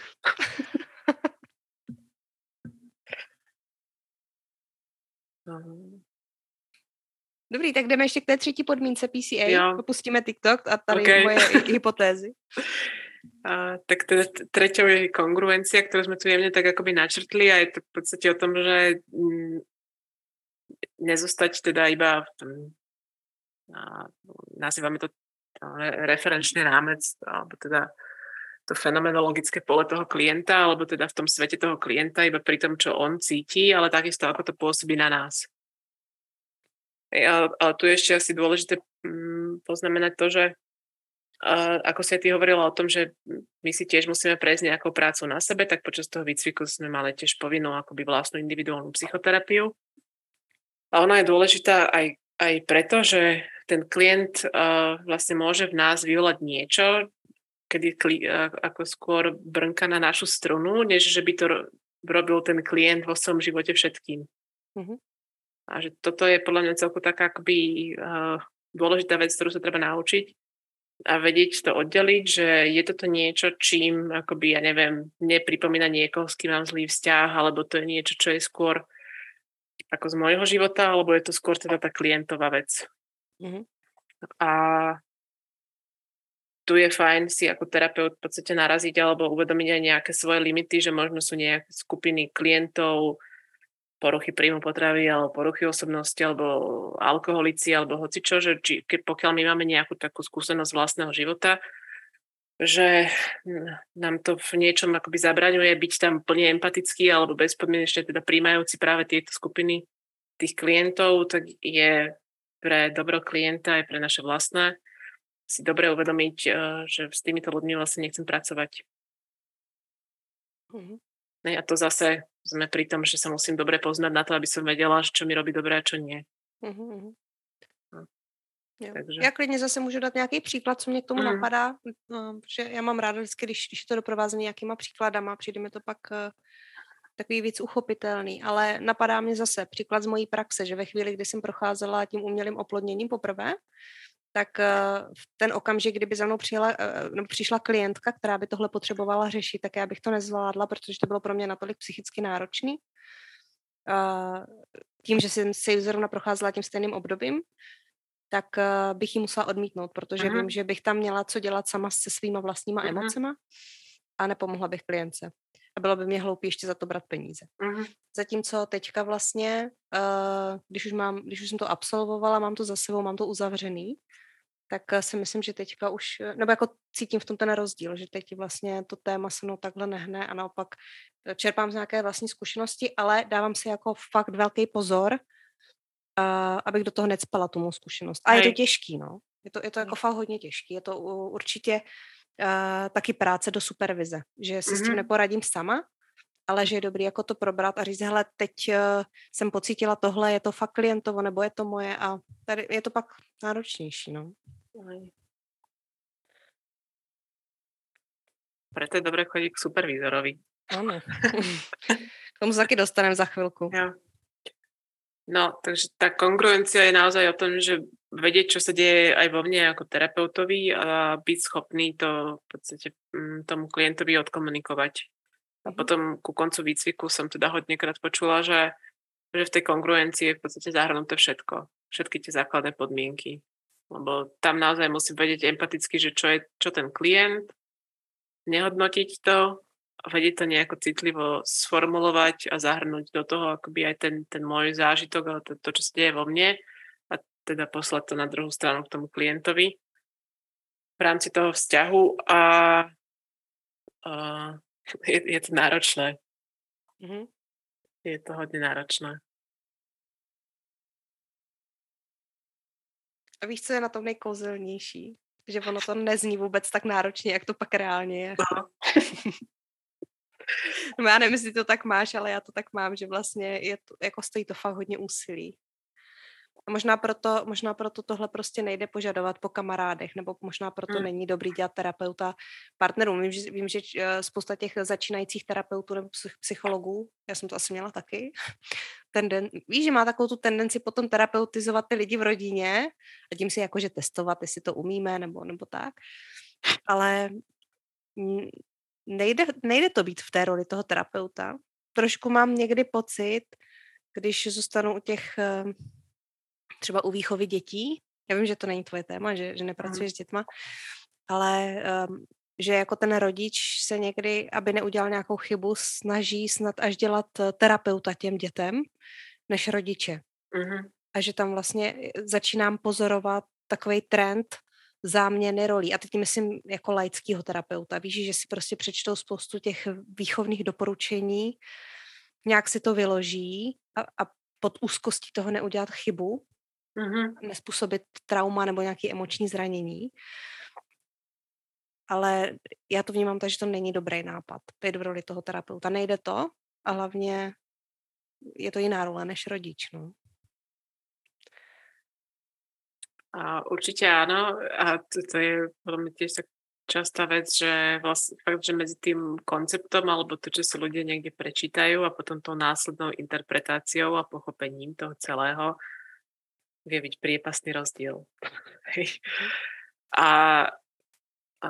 Dobrý, tak jdeme ještě k té třetí podmínce P C A. Jo. Popustíme TikTok a tady okay. moje hypotézy. A, tak teda treťou je kongruencia, ktorú sme tu jemne tak akoby načrtli a je to v podstate o tom, že mm, nezostať teda iba v tom, a, nazývame to, to referenčný rámec, alebo teda to fenomenologické pole toho klienta, alebo teda v tom svete toho klienta, iba pri tom, čo on cíti, ale takisto ako to pôsobí na nás. Ale, ale tu je ešte asi dôležité mm, poznamenať to, že Uh, ako si ty hovorila o tom, že my si tiež musíme prejsť nejakou prácu na sebe, tak počas toho výcviku sme mali tiež povinnú akoby vlastnú individuálnu psychoterapiu. A ona je dôležitá aj, aj preto, že ten klient uh, vlastne môže v nás vyvolať niečo, kedy kli, uh, ako skôr brnka na našu strunu, než že by to ro- robil ten klient vo svojom živote všetkým. Mm-hmm. A že toto je podľa mňa celku taká akoby uh, dôležitá vec, ktorú sa treba naučiť, a vedieť to oddeliť, že je toto niečo, čím akoby, ja neviem, nepripomína niekoho, s kým mám zlý vzťah, alebo to je niečo, čo je skôr ako z môjho života, alebo je to skôr teda tá klientová vec. Mm-hmm. A tu je fajn si ako terapeut v podstate naraziť alebo uvedomiť aj nejaké svoje limity, že možno sú nejaké skupiny klientov, poruchy príjmu potravy alebo poruchy osobnosti alebo alkoholici alebo hocičo, že či, keď, pokiaľ my máme nejakú takú skúsenosť vlastného života, že nám to v niečom akoby zabraňuje byť tam plne empatický alebo bezpodmienečne teda príjmajúci práve tieto skupiny tých klientov, tak je pre dobro klienta aj pre naše vlastné si dobre uvedomiť, že s týmito ľuďmi vlastne nechcem pracovať. Mm-hmm. A to zase sme pri tom, že sa musím dobre poznať na to, aby som vedela, čo mi robí dobré a čo nie. Uh-huh. No. Takže... Já klidně zase můžu dát nějaký příklad, co mě k tomu uh-huh. napadá, no, že já mám ráda vždycky, když, když to doprovázím nějakýma příkladama, přijde mi to pak uh, takový víc uchopitelný, ale napadá mě zase příklad z mojí praxe, že ve chvíli, kdy jsem procházela tím umělým oplodněním poprvé, tak v ten okamžik, kdyby za mnou přijela, nebo přišla klientka, která by tohle potřebovala řešit, tak já bych to nezvládla, protože to bylo pro mě natolik psychicky náročný. Tím, že jsem se zrovna procházela tím stejným obdobím, tak bych ji musela odmítnout, protože uh-huh. vím, že bych tam měla co dělat sama se svýma vlastníma uh-huh. emocema a nepomohla bych klientce. A bylo by mě hloupý ještě za to brát peníze. Uh-huh. Zatímco teďka vlastně, když už, mám, když už jsem to absolvovala, mám to za sebou, mám to uzavřený, tak si myslím, že teďka už, nebo jako cítím v tom ten rozdíl, že teď vlastně to téma se mnou takhle nehne a naopak čerpám z nějaké vlastní zkušenosti, ale dávám si jako fakt velký pozor, uh, abych do toho necpala tu mou zkušenost. A Hej. je to těžký, no. Je to, je to jako fakt hodně těžký. Je to uh, určitě uh, taky práce do supervize, že si mm-hmm. s tím neporadím sama, ale že je dobrý jako to probrat a říct, hele, teď uh, jsem pocítila tohle, je to fakt klientovo, nebo je to moje a tady je to pak náročnější, no. Preto je dobré chodiť k supervízorovi. Áno. K tomu sa taky dostanem za chvíľku. Ja. No, takže tá kongruencia je naozaj o tom, že vedieť, čo sa deje aj vo mne ako terapeutovi a byť schopný to v podstate tomu klientovi odkomunikovať. A potom ku koncu výcviku som teda hodnekrát počula, že, že v tej kongruencii je v podstate zahrnuté všetko. Všetky tie základné podmienky. Lebo tam naozaj musím vedieť empaticky, že čo je čo ten klient, nehodnotiť to, vedieť to nejako citlivo sformulovať a zahrnúť do toho akoby aj ten, ten môj zážitok, ale to, to, čo sa deje vo mne a teda poslať to na druhú stranu k tomu klientovi v rámci toho vzťahu a, a je, je to náročné. Mm-hmm. Je to hodne náročné. A víš, co je na tom nejkouzelnější? Že ono to nezní vůbec tak náročně, jak to pak reálně je. No. No já nevím, jestli to tak máš, ale já to tak mám, že vlastně je to, jako stojí to fakt hodně úsilí. A možná proto, možná proto tohle prostě nejde požadovat po kamarádech, nebo možná proto hmm. není dobrý dělat terapeuta partnerům. Vím, že, vím, že spousta těch začínajících terapeutů nebo psychologů, já jsem to asi měla taky, tenden, víš, že má takovou tu tendenci potom terapeutizovat ty lidi v rodině a tím si jakože testovat, jestli to umíme, nebo, nebo tak. Ale nejde, nejde to být v té roli toho terapeuta. Trošku mám někdy pocit, když zůstanu u těch třeba u výchovy dětí, já vím, že to není tvoje téma, že, že nepracuješ mm. s dětma, ale um, že jako ten rodič se někdy, aby neudělal nějakou chybu, snaží snad až dělat terapeuta těm dětem, než rodiče. Mm. A že tam vlastně začínám pozorovat takovej trend záměny rolí. A teď myslím jako laickýho terapeuta. Víš, že si prostě přečtou spoustu těch výchovných doporučení, nějak si to vyloží a, a pod úzkostí toho neudělat chybu, mm-hmm. nespůsobit trauma nebo nějaké emoční zranění. Ale já to vnímám tak, že to není dobrý nápad. Být v roli toho terapeuta. Nejde to a hlavně je to jiná role než rodič. No. A určite áno. A to, to je podľa mňa tiež tak častá vec, že vlastne fakt, že medzi tým konceptom alebo to, čo si ľudia niekde prečítajú a potom tou následnou interpretáciou a pochopením toho celého vie byť priepasný rozdiel. a, a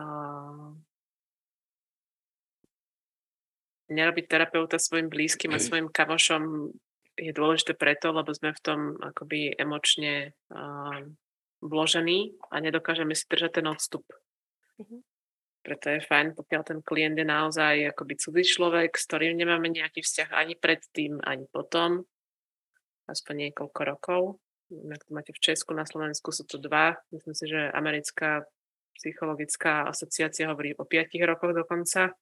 nerobiť terapeuta svojim blízkym a svojim kamošom je dôležité preto, lebo sme v tom akoby emočne uh, vložení a nedokážeme si držať ten odstup. Mm-hmm. Preto je fajn, pokiaľ ten klient je naozaj akoby cudzí človek, s ktorým nemáme nejaký vzťah ani predtým, ani potom. Aspoň niekoľko rokov. Jak to máte v Česku, na Slovensku sú to dva. Myslím si, že americká psychologická asociácia hovorí o piatich rokoch dokonca.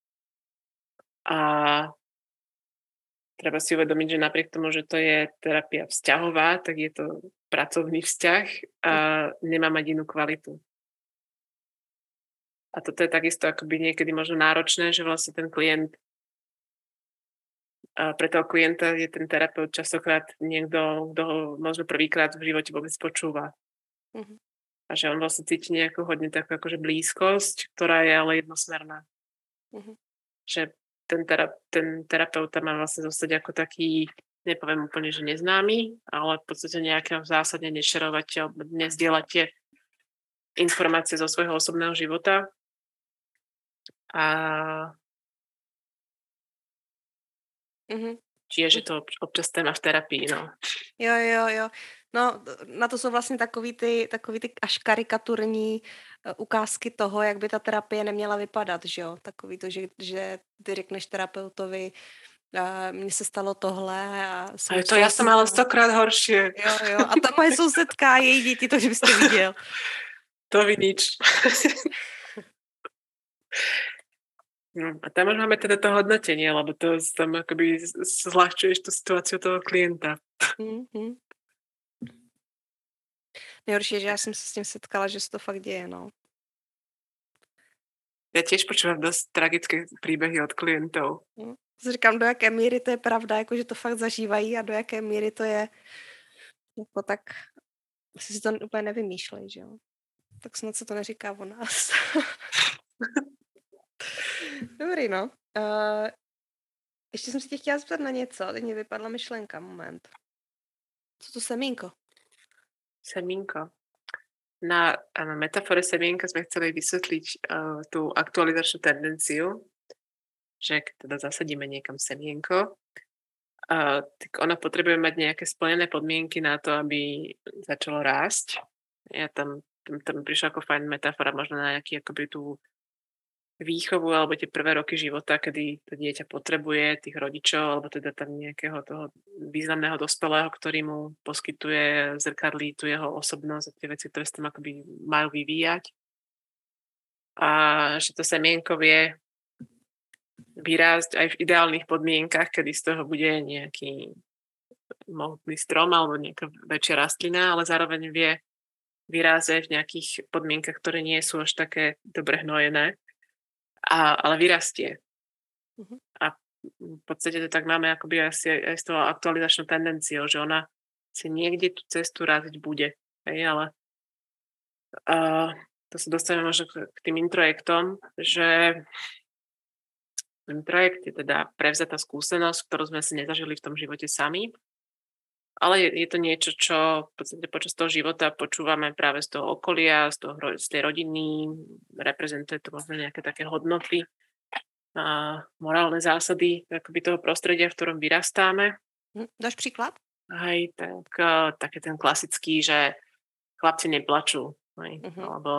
A treba si uvedomiť, že napriek tomu, že to je terapia vzťahová, tak je to pracovný vzťah a nemá mať inú kvalitu. A toto je takisto akoby niekedy možno náročné, že vlastne ten klient, a pre toho klienta je ten terapeut častokrát niekto, kto ho možno prvýkrát v živote vôbec počúva. Uh-huh. A že on vlastne cíti nejakú hodne takú akože blízkosť, ktorá je ale jednosmerná. Uh-huh. Že ten, tera, ten terapeut má vlastne zostať ako taký, nepoviem úplne, že neznámy, ale v podstate nejaké zásadne nešerovať alebo nezdieľať tie informácie zo svojho osobného života. A mm-hmm. čiže je to občas téma v terapii, no. Jo, jo, jo. No, na to jsou vlastně takový ty, takový ty až karikaturní ukázky toho, jak by ta terapie neměla vypadat, že jo? Takový to, že, že ty řekneš terapeutovi, a mně se stalo tohle a... A to já jsem ale stokrát horší. Jo, jo. A ta moje sousedka, její děti, to, že byste viděl. To vy nič. No, a tam už máme teda to hodnotenie, lebo to tam akoby zľahčuješ tú situáciu toho klienta. Mm-hmm. Nejhorší je, že já jsem se s tím setkala, že se to fakt děje, no. Ja tiež počúvam dosť tragické príbehy od klientov. Mm. Si říkám, do jaké míry to je pravda, jako že to fakt zažívají a do jaké míry to je jako tak, asi si to úplně nevymýšlej, že jo. Tak snad se to neříká o nás. Dobrý, no. Uh, ještě jsem se tě chtěla zeptat na něco, teď mě vypadla myšlenka, moment. Co to semínko? Semínko. Na, na metafore semienka sme chceli vysvetliť uh, tú aktualizačnú tendenciu, že keď teda zasadíme niekam semienko, uh, tak ona potrebuje mať nejaké splnené podmienky na to, aby začalo rásť. Ja tam, tam, tam prišla ako fajn metafora možno na nejaký akoby tú výchovu alebo tie prvé roky života, kedy to dieťa potrebuje tých rodičov alebo teda tam nejakého toho významného dospelého, ktorý mu poskytuje, zrkadlí tú jeho osobnosť a tie veci, ktoré sa tam akoby majú vyvíjať. A že to semienko vie vyrásť aj v ideálnych podmienkach, kedy z toho bude nejaký mohutný strom alebo nejaká väčšia rastlina, ale zároveň vie vyrásť aj v nejakých podmienkach, ktoré nie sú až také dobre hnojené. A, ale vyrastie. Uh-huh. A v podstate to tak máme akoby asi aj, aj s tou aktualizačnou tendenciou, že ona si niekde tú cestu raziť bude. Hej, ale uh, to sa dostaneme možno k, k tým introjektom, že introjekt je teda prevzatá skúsenosť, ktorú sme si nezažili v tom živote sami, ale je, je to niečo, čo v podstate počas toho života počúvame práve z toho okolia, z, toho, z tej rodiny, reprezentuje to možno nejaké také hodnoty a morálne zásady akoby toho prostredia, v ktorom vyrastáme. Dáš príklad? Hej, tak, uh, také ten klasický, že chlapci neplačú. Hej, uh-huh. Alebo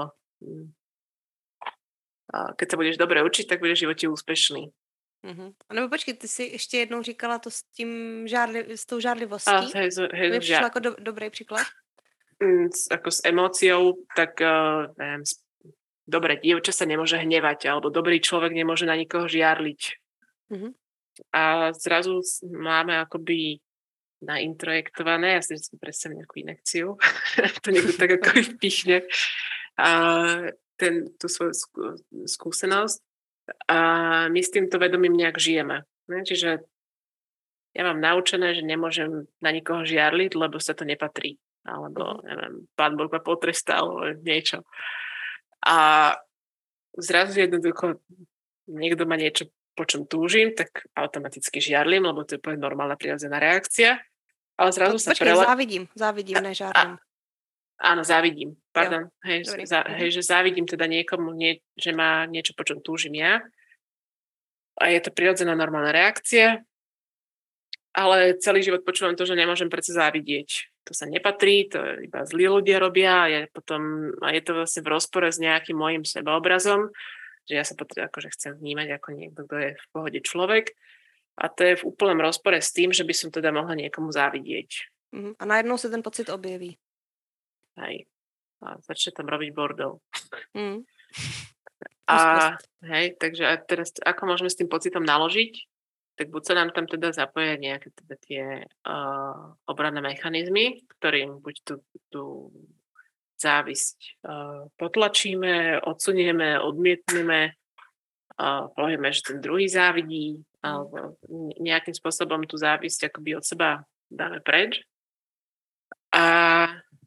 uh, keď sa budeš dobre učiť, tak budeš v živote úspešný. Uh-huh. A nebo počkej, ty si ještě jednou říkala to s tím žádli, s tou žádlivostí. A, hej, hej, to mi přišlo jako do, dobrý příklad. Mm, ako s emóciou, tak uh, neviem, dobre, dievča sa nemôže hnevať, alebo dobrý človek nemôže na nikoho žiarliť. Uh-huh. A zrazu máme akoby naintrojektované, ja si vždy predstavím nejakú inekciu, to niekto tak ako vpichne, a ten, tú svoju skú, skúsenosť. A my s týmto vedomím nejak žijeme. Ne? Čiže ja mám naučené, že nemôžem na nikoho žiarliť, lebo sa to nepatrí. Alebo, neviem, pán Boh ma potrestal, alebo niečo. A zrazu jednoducho niekto má niečo, po čom túžim, tak automaticky žiarlim, lebo to je úplne normálna prirodzená reakcia. Ale zrazu sa počkej, prela... závidím, závidím, nežárlim. Áno, závidím, pardon. Hej, za, hej, že závidím teda niekomu, nie, že má niečo, po čom túžim ja. A je to prirodzená normálna reakcia, ale celý život počúvam to, že nemôžem predsa závidieť. To sa nepatrí, to iba zlí ľudia robia a je, potom, a je to vlastne v rozpore s nejakým môjim sebaobrazom, že ja sa potom akože chcem vnímať ako niekto, kto je v pohode človek. A to je v úplnom rozpore s tým, že by som teda mohla niekomu závidieť. A najednou sa ten pocit objeví. Hej. A začne tam robiť bordel. Mm. A hej, takže a teraz ako môžeme s tým pocitom naložiť? Tak buď sa nám tam teda zapoja nejaké teda tie uh, obranné mechanizmy, ktorým buď tú, tú závisť uh, potlačíme, odsunieme, odmietneme, uh, povieme, že ten druhý závidí, mm. alebo nejakým spôsobom tú závisť akoby od seba dáme preč. A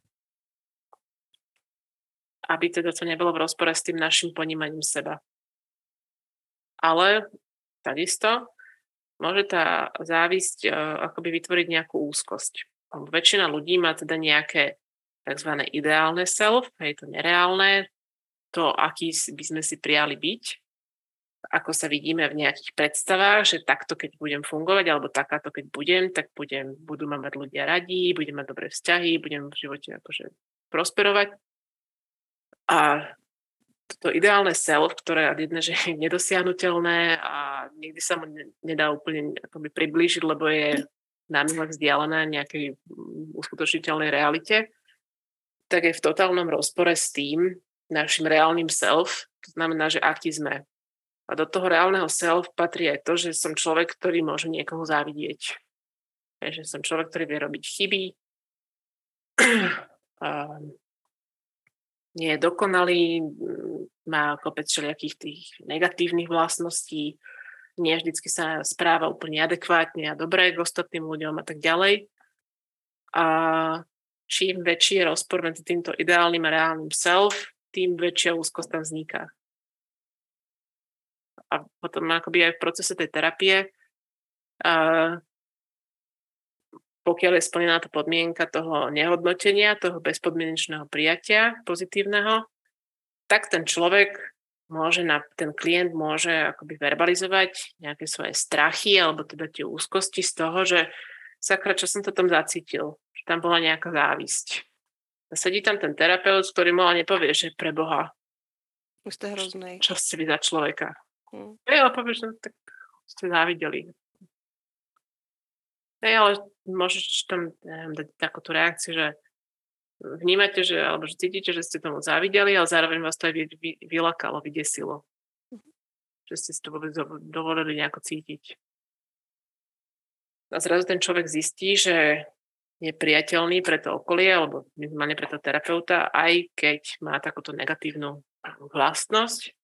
aby teda to nebolo v rozpore s tým našim ponímaním seba. Ale takisto môže tá závisť uh, akoby vytvoriť nejakú úzkosť. Väčšina ľudí má teda nejaké tzv. Ideálne self, je to nereálne, to, aký by sme si prijali byť, ako sa vidíme v nejakých predstavách, že takto, keď budem fungovať, alebo takáto, keď budem, tak budem, budú ma mať ľudia radí, budem mať dobré vzťahy, budem v živote akože prosperovať. A toto ideálne self, ktoré jedné, že je nedosiahnuteľné a nikdy sa mu nedá úplne akoby priblížiť, lebo je námihle vzdialené nejakej uskutočniteľnej realite, tak je v totálnom rozpore s tým, našim reálnym self, to znamená, že aký sme. A do toho reálneho self patrí aj to, že som človek, ktorý môže niekoho závidieť. Že som človek, ktorý vie robiť chyby, a nie je dokonalý, má kopec všelijakých tých negatívnych vlastností, nie vždycky sa správa úplne adekvátne a dobre k ostatným ľuďom a tak ďalej. A čím väčší je rozpor medzi týmto ideálnym a reálnym self, tým väčšia úzkosť tam vzniká. A potom akoby aj v procese tej terapie, a pokiaľ je splnená tá podmienka toho nehodnotenia, toho bezpodmienečného prijatia pozitívneho, tak ten človek môže, na, ten klient môže akoby verbalizovať nejaké svoje strachy alebo teda tie úzkosti z toho, že sakra, čo som to tam zacítil, že tam bola nejaká závisť. A sedí tam ten terapeut, ktorý mu ale nepovie, že pre Boha. Už ste hroznej. Čo ste vy za človeka? Hmm. Hej, ale povieš, no tak ste závideli. Hej, ale môžeš tam neviem, dať takúto reakciu, že vnímate, že, alebo že cítite, že ste tomu závideli, ale zároveň vás to aj vy, vy, vylakalo, vydesilo. Mm-hmm. Že ste si to vôbec dovolili nejako cítiť. A zrazu ten človek zistí, že je priateľný pre to okolie, alebo minimálne pre toho terapeuta, aj keď má takúto negatívnu vlastnosť.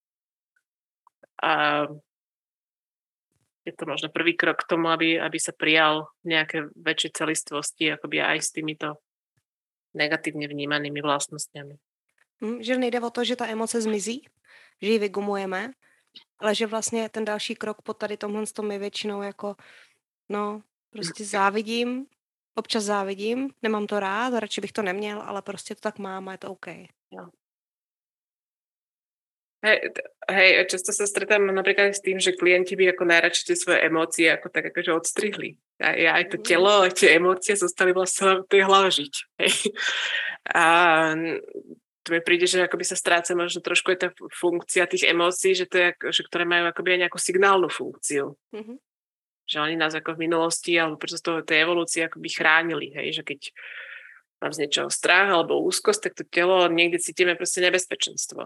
A je to možno prvý krok k tomu, aby, aby sa prijal nejaké väčšie celistvosti, akoby aj s týmito negatívne vnímanými vlastnosťami. Hmm, že nejde o to, že ta emoce zmizí, že ji vygumujeme, ale že vlastně ten další krok po tady tomhle tom je většinou jako, no, prostě závidím, občas závidím, nemám to rád, radši bych to neměl, ale prostě to tak mám a je to OK. Jo. Hej, hej, často sa stretám napríklad s tým, že klienti by ako najradšej tie svoje emócie ako tak akože odstrihli. A aj to telo, aj tie emócie zostali vlastne v tej hlave žiť. Hej. A to mi príde, že akoby sa stráca možno trošku aj tá funkcia tých emócií, že to je, že ktoré majú akoby aj nejakú signálnu funkciu. Mm-hmm. Že oni nás ako v minulosti alebo počas toho tej evolúcie akoby chránili. Hej, že keď mám z niečoho strach alebo úzkosť, tak to telo niekde cítime proste nebezpečenstvo.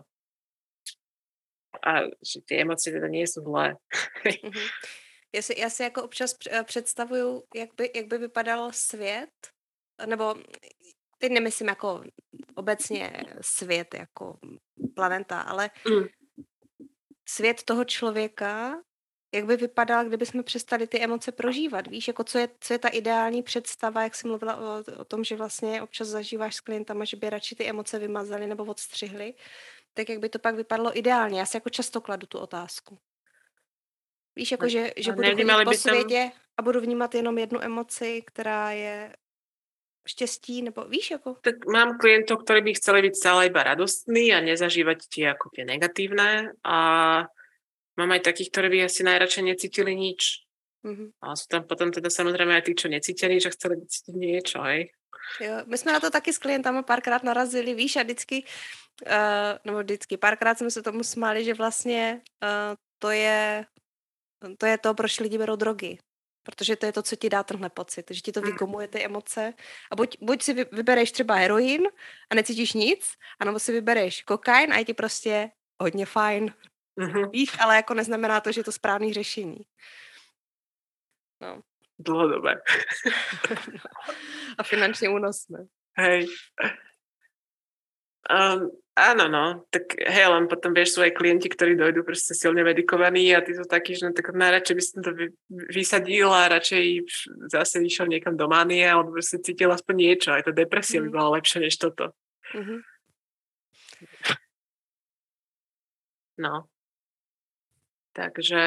A že ty emoce teda nie jsou zlé. Mm-hmm. Já si, já si jako občas představuju, jak by, jak by vypadal svět, nebo teď nemyslím jako obecně svět jako planeta, ale mm. svět toho člověka, jak by vypadal, kdyby jsme přestali ty emoce prožívat. Víš, jako co je, co je ta ideální představa, jak jsi mluvila o, o tom, že vlastně občas zažíváš s klientama, že by radši ty emoce vymazali nebo odstřihli, tak jak by to pak vypadalo ideálně. Já si jako často kladu tu otázku. Víš, jako že, že budu chodit po světě a budu vnímat jenom jednu emoci, která je štěstí, nebo víš, jako? Tak mám klientov, ktorí by chceli byť stále iba radostní a nezažívať tie ako tie negatívne a mám aj takých, ktorí by asi najradšej necítili nič. Mm-hmm. A sú tam potom teda samozrejme aj tí, čo necítili, že chceli cítiť niečo, hej. Jo, my jsme na to taky s klientama párkrát narazili, víš, a vždycky, uh, nebo vždycky, párkrát jsme se tomu smáli, že vlastně uh, to je to je to, proč lidi berou drogy. Protože to je to, co ti dá tenhle pocit, že ti to vygumuje ty emoce. A buď, buď si vybereš třeba heroin a necítíš nic, anebo si vybereš kokain a je ti prostě hodně fajn. Mm-hmm. Víš, ale jako neznamená to, že je to správný řešení. No. Dlhodobé. No. A finančně únosné. Hej. Um, áno, no, tak hej, len potom vieš svoje klienti, ktorí dojdú proste silne medikovaní a ty sú takí, že no, tak najradšej by som to vy, vysadil a radšej zase išiel niekam do manie alebo proste cítil aspoň niečo, aj tá depresia mm. by bola lepšia než toto. Mm-hmm. No. Takže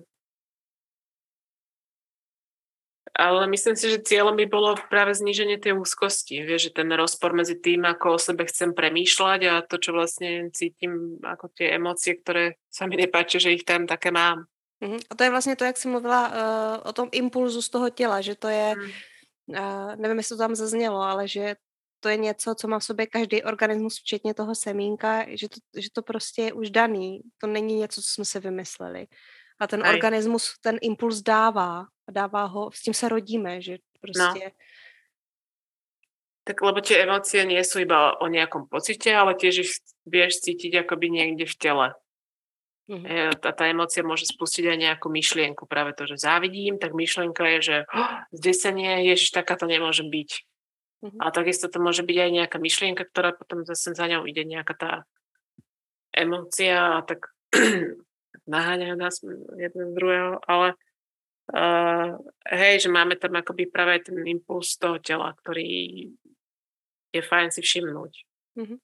ale myslím si, že cieľom by bolo práve zníženie tej úzkosti. Vieš, že ten rozpor medzi tým, ako o sebe chcem premýšľať a to, čo vlastne cítim, ako tie emócie, ktoré sa mi nepáčia, že ich tam také mám. Uh-huh. A to je vlastně to, jak jsi mluvila uh, o tom impulzu z toho těla, že to je, hmm. uh, nevím, jestli to tam zaznělo, ale že to je něco, co má v sobě každý organismus, včetně toho semínka, že to, že to prostě je už daný. To není něco, co jsme si vymysleli. A ten Aj. organismus ten impuls dává. A dává ho, s tím se rodíme, že prostě... No. Tak lebo tie emócie nie sú iba o nejakom pocite, ale tiež ich vieš cítiť akoby niekde v tele. Mm-hmm. A tá emócia môže spustiť aj nejakú myšlienku. Práve to, že závidím, tak myšlienka je, že oh, zdesenie, ježiš, taká to nemôže byť. Mm-hmm. A takisto to môže byť aj nejaká myšlienka, ktorá potom zase za ňou ide nejaká tá emócia a tak naháňajú nás jedno z druhého, ale uh, hej, že máme tam akoby práve ten impuls toho tela, ktorý je fajn si všimnúť. Mm-hmm.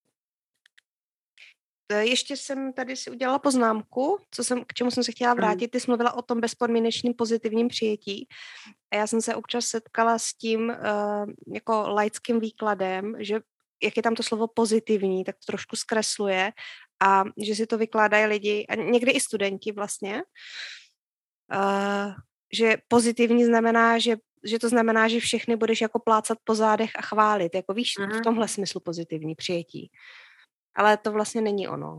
Ještě jsem tady si udělala poznámku, co jsem, k čemu jsem se chtěla vrátit. Ty jsi mluvila o tom bezpodmínečným pozitivním přijetí. A já jsem se občas setkala s tím uh, jako laickým výkladem, že jak je tam to slovo pozitivní, tak to trošku zkresluje a že si to vykládají lidi, a někdy i studenti vlastně, uh, že pozitivní znamená, že, že to znamená, že všechny budeš jako plácat po zádech a chválit. Jako víš, uh-huh. v tomhle smyslu pozitivní přijetí. Ale to vlastne není ono.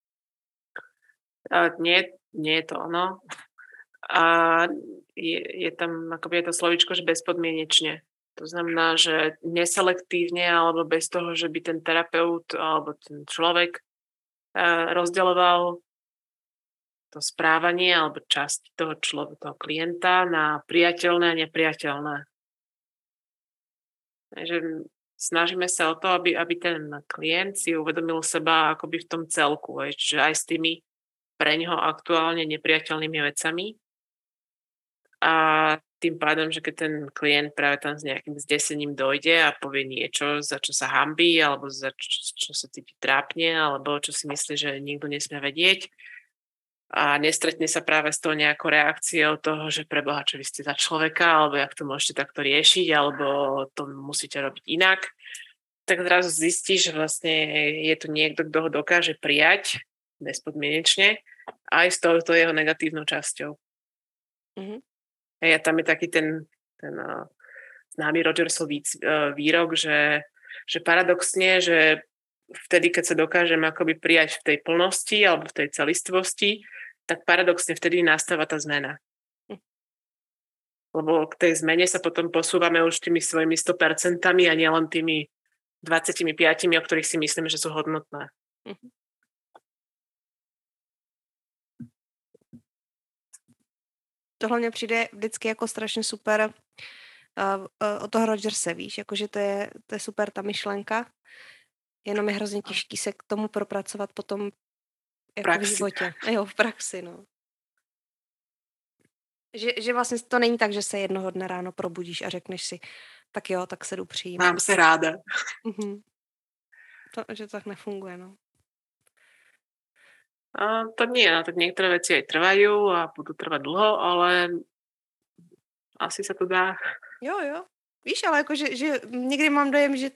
A nie, nie je to ono. A je, je tam akoby je to slovíčko, že bezpodmienečne. To znamená, že neselektívne alebo bez toho, že by ten terapeut alebo ten človek rozdeľoval to správanie alebo časť toho človeka, toho klienta na priateľné a nepriateľné. Takže snažíme sa o to, aby, aby ten klient si uvedomil seba akoby v tom celku, čiže aj s tými pre ňoho aktuálne nepriateľnými vecami. A tým pádom, že keď ten klient práve tam s nejakým zdesením dojde a povie niečo, za čo sa hanbí, alebo za čo, čo sa cíti trápne, alebo čo si myslí, že nikto nesmie vedieť, a nestretne sa práve s tou nejakou reakciou toho, že preboha, čo vy ste za človeka, alebo jak to môžete takto riešiť, alebo to musíte robiť inak, tak zrazu zistí, že vlastne je tu niekto, kto ho dokáže prijať bezpodmienečne aj s touto jeho negatívnou časťou. Mm-hmm. A tam je taký ten, ten uh, známy Rogersov uh, výrok, že, že paradoxne, že vtedy, keď sa dokážeme akoby prijať v tej plnosti alebo v tej celistvosti, tak paradoxne vtedy nastáva tá zmena. Lebo k tej zmene sa potom posúvame už tými svojimi sto percentami a nielen tými dvadsaťpäť, o ktorých si myslíme, že sú hodnotné. Tohle mně přijde vždycky jako strašně super uh, uh, od toho Rogerse, víš, jakože to je, to je super ta myšlenka, jenom je hrozně těžký se k tomu propracovat potom jako v životě. Jo, v praxi, no. Že, že vlastně to není tak, že se jednoho dne ráno probudíš a řekneš si, tak jo, tak se jdu přijímat. Mám se ráda. Uh-huh. To, že to tak nefunguje, no. A to nie, tak niektoré veci aj trvajú a budú trvať dlho, ale asi sa to dá. Jo, jo. Víš, ale jako, že, že někdy mám dojem, že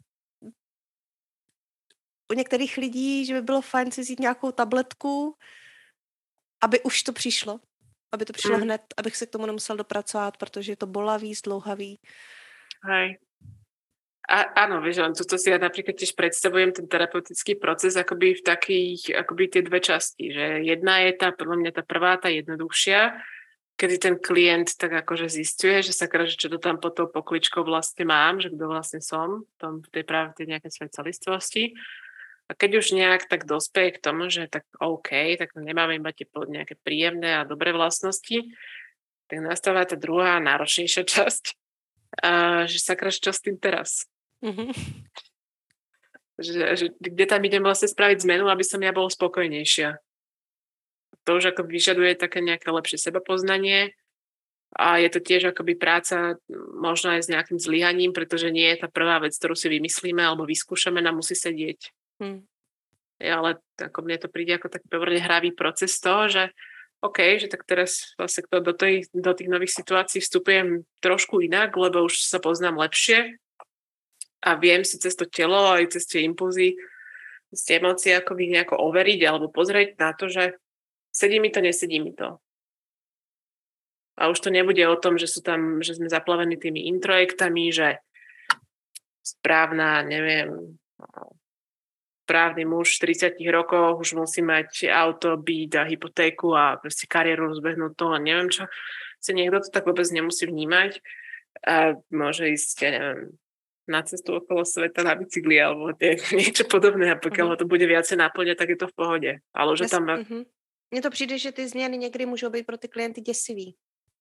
u některých lidí, že by bylo fajn si vzít nějakou tabletku, aby už to přišlo. Aby to přišlo mm. hned, abych se k tomu nemusel dopracovat, protože je to bolavý, zdlouhavý. Hej. A, áno, vieš, len toto si ja napríklad tiež predstavujem ten terapeutický proces akoby v takých, akoby tie dve časti, že jedna je tá, podľa mňa tá prvá, tá jednoduchšia, kedy ten klient tak akože zisťuje, že sakra, že čo to tam pod tou pokličkou vlastne mám, že kto vlastne som, tom, v tej práve tej nejakej svojej celistvosti. A keď už nejak tak dospeje k tomu, že tak OK, tak nemáme iba tie nejaké príjemné a dobré vlastnosti, tak nastáva tá druhá náročnejšia časť, a že sakra, čo s tým teraz? Mm-hmm. Že, že, kde tam idem vlastne spraviť zmenu, aby som ja bol spokojnejšia. To už ako vyžaduje také nejaké lepšie sebapoznanie a je to tiež akoby práca možno aj s nejakým zlyhaním, pretože nie je tá prvá vec, ktorú si vymyslíme alebo vyskúšame, nám musí sedieť. Mm. Ja, ale ako mne to príde ako taký pomerne hravý proces toho, že OK, že tak teraz vlastne do, tej, do tých nových situácií vstupujem trošku inak, lebo už sa poznám lepšie a viem si cez to telo aj cez tie impulzy, cez tie emócie akoby nejako overiť alebo pozrieť na to, že sedí mi to, nesedí mi to. A už to nebude o tom, že sú tam, že sme zaplavení tými introjektami, že správna, neviem, správny muž v tridsiatich rokoch už musí mať auto, byt a hypotéku a proste kariéru rozbehnúť to a neviem čo. Si niekto to tak vôbec nemusí vnímať a môže ísť, ja neviem, na cestu okolo sveta na bicykli alebo tie, niečo podobné a pokiaľ Mhm. ho to bude viacej náplňať, tak je to v pohode. Ale že Jas, tam mhm. Mně to přijde, že ty změny někdy můžou být pro ty klienty děsivý.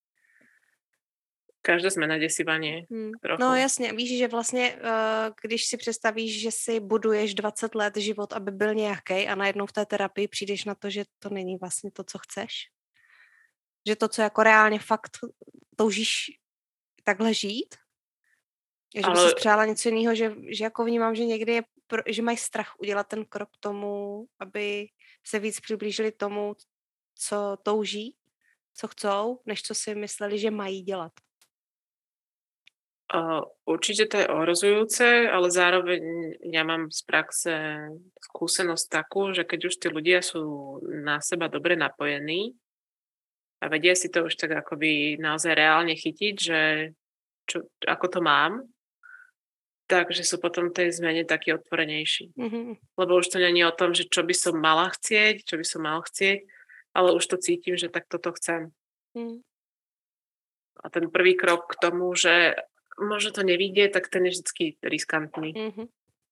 každá zmena desivá, nie? Hmm. Trochu. No jasně, víš, že vlastně, uh, když si představíš, že si buduješ dvacet let život, aby byl nějaký a najednou v té terapii přijdeš na to, že to není vlastně to, co chceš. Že to, co jako reálně fakt toužíš takhle žít, že by Ale- si přála něco jiného, že, že jako vnímám, že někdy je, pro, že mají strach udělat ten krok k tomu, aby se víc přiblížili tomu, co touží, co chcou, než co si mysleli, že mají dělat. Uh, určite to je ohrozujúce, ale zároveň ja mám z praxe skúsenosť takú, že keď už tí ľudia sú na seba dobre napojení a vedia si to už tak akoby naozaj reálne chytiť, že čo, ako to mám, takže sú potom tej zmene takí otvorenejší. Mm-hmm. Lebo už to nie je o tom, že čo by som mala chcieť, čo by som mal chcieť, ale už to cítim, že tak toto chcem. Mm. A ten prvý krok k tomu, že možno to nevidie, tak ten je vždycky riskantný. Mm-hmm.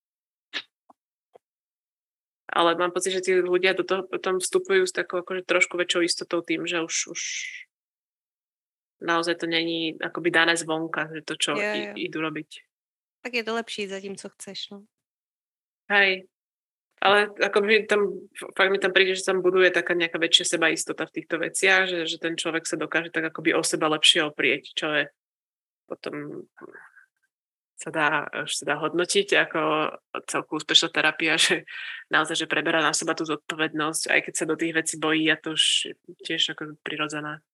Ale mám pocit, že tí ľudia do toho potom vstupujú s takou akože trošku väčšou istotou tým, že už, už naozaj to není akoby dané zvonka, že to, čo Jo, i, jo. idú robiť. Tak je to lepší za tím, co chceš, no. Hej. Ale akoby tam, fakt mi tam príde, že tam buduje taká nejaká väčšia sebaistota v týchto veciach, že, že ten človek sa dokáže tak akoby o seba lepšie oprieť, čo je potom sa dá, už sa dá hodnotiť ako celku úspešná terapia, že naozaj, že preberá na seba tú zodpovednosť, aj keď sa do tých vecí bojí a to už je tiež ako prirodzené.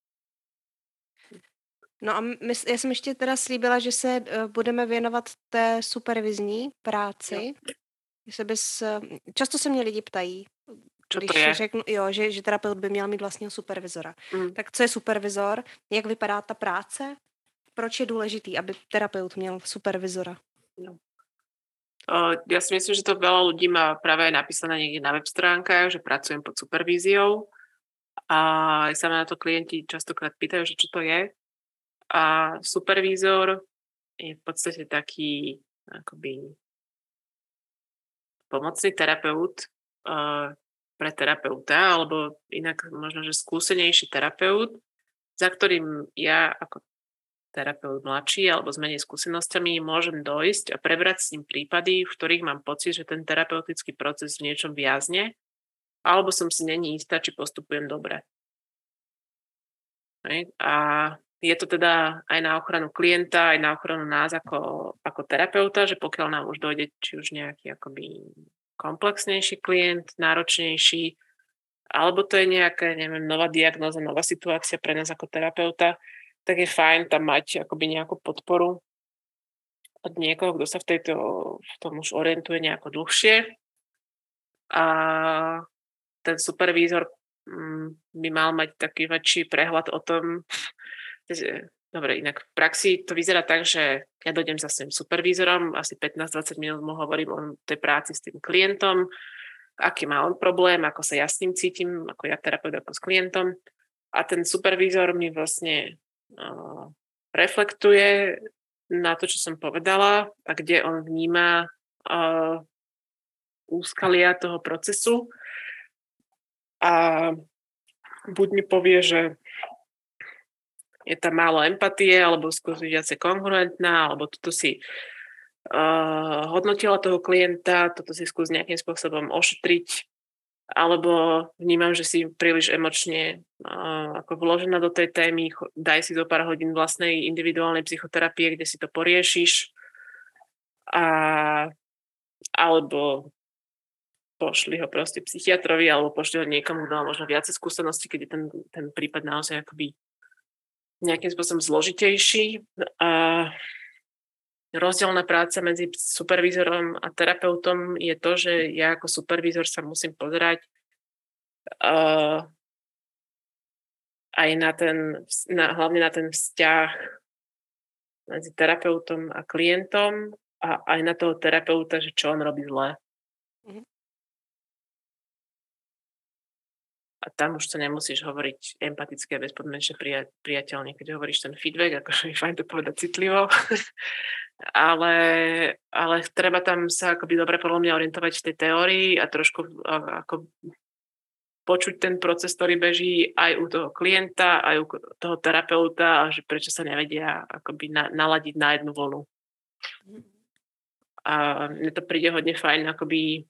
No a my, já jsem ještě teda slíbila, že se uh, budeme věnovat té supervizní práci. Jestli bys, uh, často se mě lidi ptají, Čo když to je? řeknu, jo, že, že terapeut by měl mít vlastního supervizora. Mm. Tak co je supervizor? Jak vypadá ta práce? Proč je důležitý, aby terapeut měl supervizora? No. Uh, ja si myslím, že to veľa ľudí má práve aj napísané niekde na web stránkach, že pracujem pod supervíziou a aj sa ma na to klienti častokrát pýtajú, že čo to je. A supervízor je v podstate taký akoby pomocný terapeut uh, pre terapeuta, alebo inak možno, že skúsenejší terapeut, za ktorým ja ako terapeut mladší alebo s menej skúsenosťami môžem dojsť a prebrať s ním prípady, v ktorých mám pocit, že ten terapeutický proces v niečom viazne, alebo som si není istá, či postupujem dobre. Hej. A je to teda aj na ochranu klienta, aj na ochranu nás ako, ako terapeuta, že pokiaľ nám už dojde či už nejaký akoby komplexnejší klient, náročnejší, alebo to je nejaká, neviem, nová diagnóza, nová situácia pre nás ako terapeuta, tak je fajn tam mať akoby nejakú podporu od niekoho, kto sa v, tejto, v tom už orientuje nejako dlhšie. A ten supervízor by mal mať taký väčší prehľad o tom. Dobre, inak v praxi to vyzerá tak, že ja dojdem za svojím supervízorom, asi pätnásť dvadsať minút mu hovorím o tej práci s tým klientom, aký má on problém, ako sa ja s ním cítim, ako ja terapeut, ako s klientom. A ten supervízor mi vlastne uh, reflektuje na to, čo som povedala a kde on vníma uh, úskalia toho procesu. A buď mi povie, že je tam málo empatie, alebo skôr viacej kongruentná, alebo toto si uh, hodnotila toho klienta, toto si skús nejakým spôsobom ošetriť, alebo vnímam, že si príliš emočne uh, ako vložená do tej témy, daj si zo pár hodín vlastnej individuálnej psychoterapie, kde si to poriešiš, a, alebo pošli ho proste psychiatrovi, alebo pošli ho niekomu, kto má možno viacej skúseností, keď je ten, ten prípad naozaj akoby nejakým spôsobom zložitejší. A rozdielna práca medzi supervízorom a terapeutom je to, že ja ako supervízor sa musím pozerať uh, aj na ten, na, hlavne na ten vzťah medzi terapeutom a klientom a aj na toho terapeuta, že čo on robí zle. Mhm. A tam už to nemusíš hovoriť empaticky a bezpodmienečne prija- priateľne, keď hovoríš ten feedback, akože je fajn to povedať citlivo. ale, ale treba tam sa akoby dobre podľa mňa orientovať v tej teórii a trošku a, ako počuť ten proces, ktorý beží aj u toho klienta, aj u toho terapeuta a že prečo sa nevedia akoby na, naladiť na jednu vlnu. A mne to príde hodne fajn akoby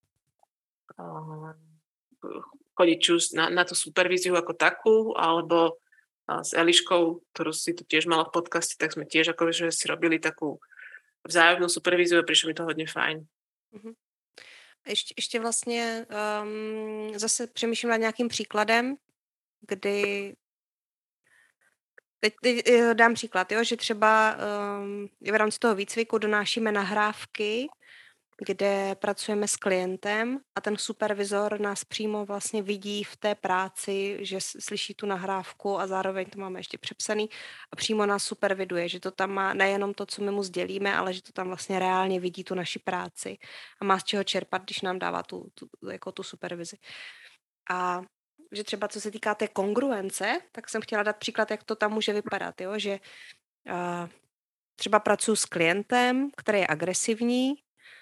uh, chodiť či už na, na tú supervíziu ako takú, alebo uh, s Eliškou, ktorú si tu tiež mala v podcaste, tak sme tiež akože si robili takú vzájomnú supervíziu a prišlo mi to hodne fajn. Mhm. Ještě, ještě vlastně um, zase přemýšlím nad nějakým příkladem, kdy teď, teď eh, dám příklad, jo, že třeba um, v rámci toho výcviku donášíme nahrávky, kde pracujeme s klientem a ten supervizor nás přímo vlastně vidí v té práci, že s- slyší tu nahrávku a zároveň to máme ještě přepsaný a přímo nás superviduje, že to tam má nejenom to, co my mu sdělíme, ale že to tam vlastně reálně vidí tu naši práci a má z čeho čerpat, když nám dává tu, tu, jako tu supervizi. A že třeba co se týká té kongruence, tak jsem chtěla dát příklad, jak to tam může vypadat, jo? Že uh, třeba pracuji s klientem, který je agresivní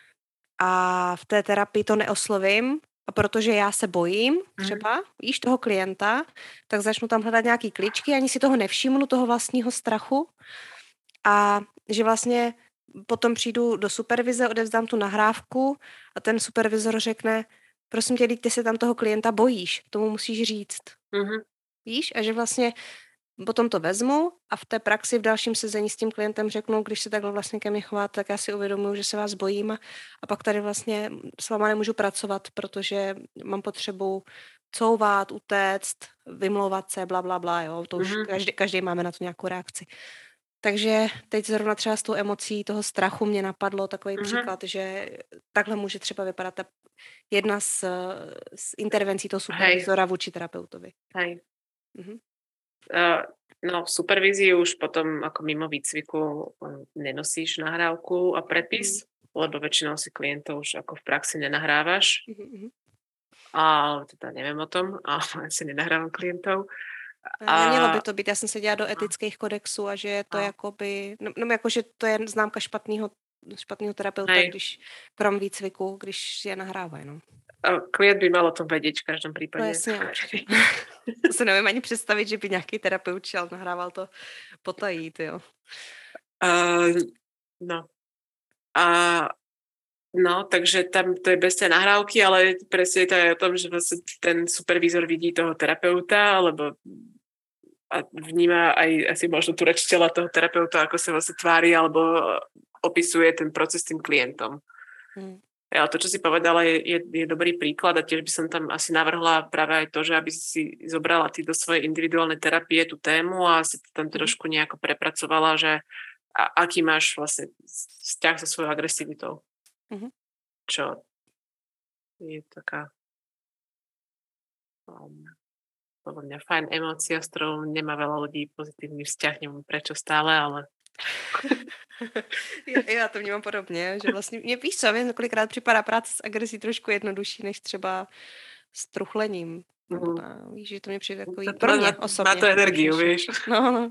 a v té terapii to neoslovím, a protože já se bojím třeba, víš, toho klienta, tak začnu tam hledat nějaký kličky, ani si toho nevšimnu, toho vlastního strachu a že vlastně potom přijdu do supervize, odevzdám tu nahrávku a ten supervizor řekne, prosím tě, ty se tam toho klienta bojíš, tomu musíš říct. Mm-hmm. Víš? A že vlastně potom to vezmu a v té praxi v dalším sezení s tím klientem řeknu, když se takhle vlastně ke mně chováte, tak já si uvědomuji, že se vás bojím a, a pak tady vlastně s váma nemůžu pracovat, protože mám potřebu couvat, utéct, vymlouvat se, bla, bla, bla, jo. To už Mm-hmm. každý, každý máme na to nějakou reakci. Takže teď zrovna třeba s tou emocí toho strachu mě napadlo takový mm-hmm. příklad, že takhle může třeba vypadat ta jedna z, z intervencí toho supervizora vůči terapeutovi. Hej. Mm-hmm. Uh, no v supervízii už potom ako mimo výcviku nenosíš nahrávku a prepis, mm. lebo väčšinou si klientov už ako v praxi nenahrávaš. Mm-hmm. A teda neviem o tom, ale si nenahrávam klientov. A nemělo by to být, já jsem se dělala do etických kodexů a že je to a. jakoby, no, no jako, že to je známka špatného, špatného terapeuta, Hej. když krom výcviku, když je nahrávají, no. A klient by mal o tom vědět v každém případě. No jasně, určitě. To se nevím ani představit, že by nějaký terapeut šel, nahrával to potají, jo. Uh, no. A no, takže tam to je bez té nahrávky, ale presne to je o tom, že vlastne ten supervízor vidí toho terapeuta, alebo a vníma aj asi možno tu reč tela toho terapeuta, ako sa vlastne tvári, alebo opisuje ten proces s tým klientom. Hmm. Ale to, čo si povedala, je, je, je dobrý príklad a tiež by som tam asi navrhla práve aj to, že aby si zobrala ty do svojej individuálnej terapie tú tému a si to tam trošku nejako prepracovala, že a, aký máš vlastne vzťah so svojou agresivitou. Mm-hmm. Čo je taká um, podľa mňa fajn emócia, s ktorou nemá veľa ľudí pozitívny vzťah, neviem prečo stále, ale já, já to vnímám podobně, že vlastně mě víš co, mě kolikrát připadá práce s agresí trošku jednodušší, než třeba s truchlením. Mm. A, víš, že to mě přijde takový, to pro mě má, osobně. Má to energiu, víš. No, no.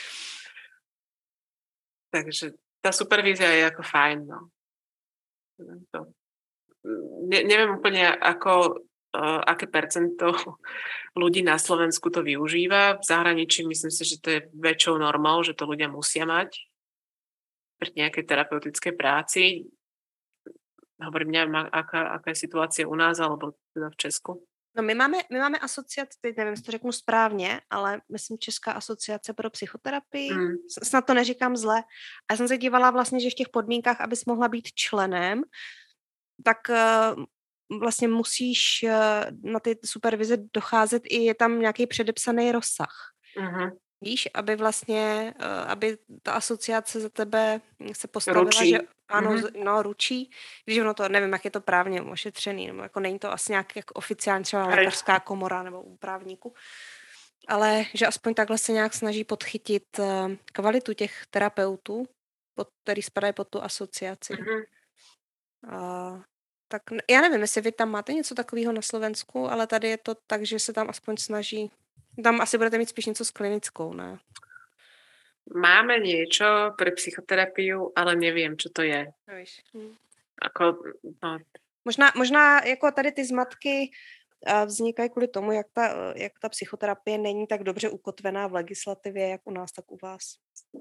Takže tá supervízia je ako fajn, no. To. Ne, neviem úplne, ako, uh, aké percento ľudí na Slovensku to využíva. V zahraničí myslím si, že to je väčšou normou, že to ľudia musia mať pri nejakej terapeutickej práci. Hovorím, neviem, aká, aká je situácia u nás, alebo teda v Česku. No my máme, my máme asociaci, teď nevím, jestli to řeknu správně, ale myslím Česká asociace pro psychoterapii, mm. snad to neříkám zle. A já jsem se dívala vlastně, že v těch podmínkách, abys mohla být členem, tak uh, vlastně musíš uh, na ty supervize docházet i je tam nějaký předepsaný rozsah. Mm-hmm. Víš, aby vlastně, uh, aby ta asociace za tebe se postavila, ručí. Že ano, mm-hmm. no, ručí, když ono to, nevím, jak je to právně ošetřený, nebo jako není to asi nějak jako oficiální třeba lékařská komora nebo u právníku, ale že aspoň takhle se nějak snaží podchytit uh, kvalitu těch terapeutů, pod, který spadají pod tu asociaci. Mm-hmm. Uh, tak já nevím, jestli vy tam máte něco takového na Slovensku, ale tady je to tak, že se tam aspoň snaží. Tam asi budete mít spíš něco s klinickou, ne? Máme niečo pre psychoterapiu, ale neviem, čo to je. Víš. Hm. Ako, no. Možná, možná jako tady ty zmatky vznikají kvůli tomu, jak ta, jak ta psychoterapie není tak dobře ukotvená v legislativě, jak u nás, tak u vás.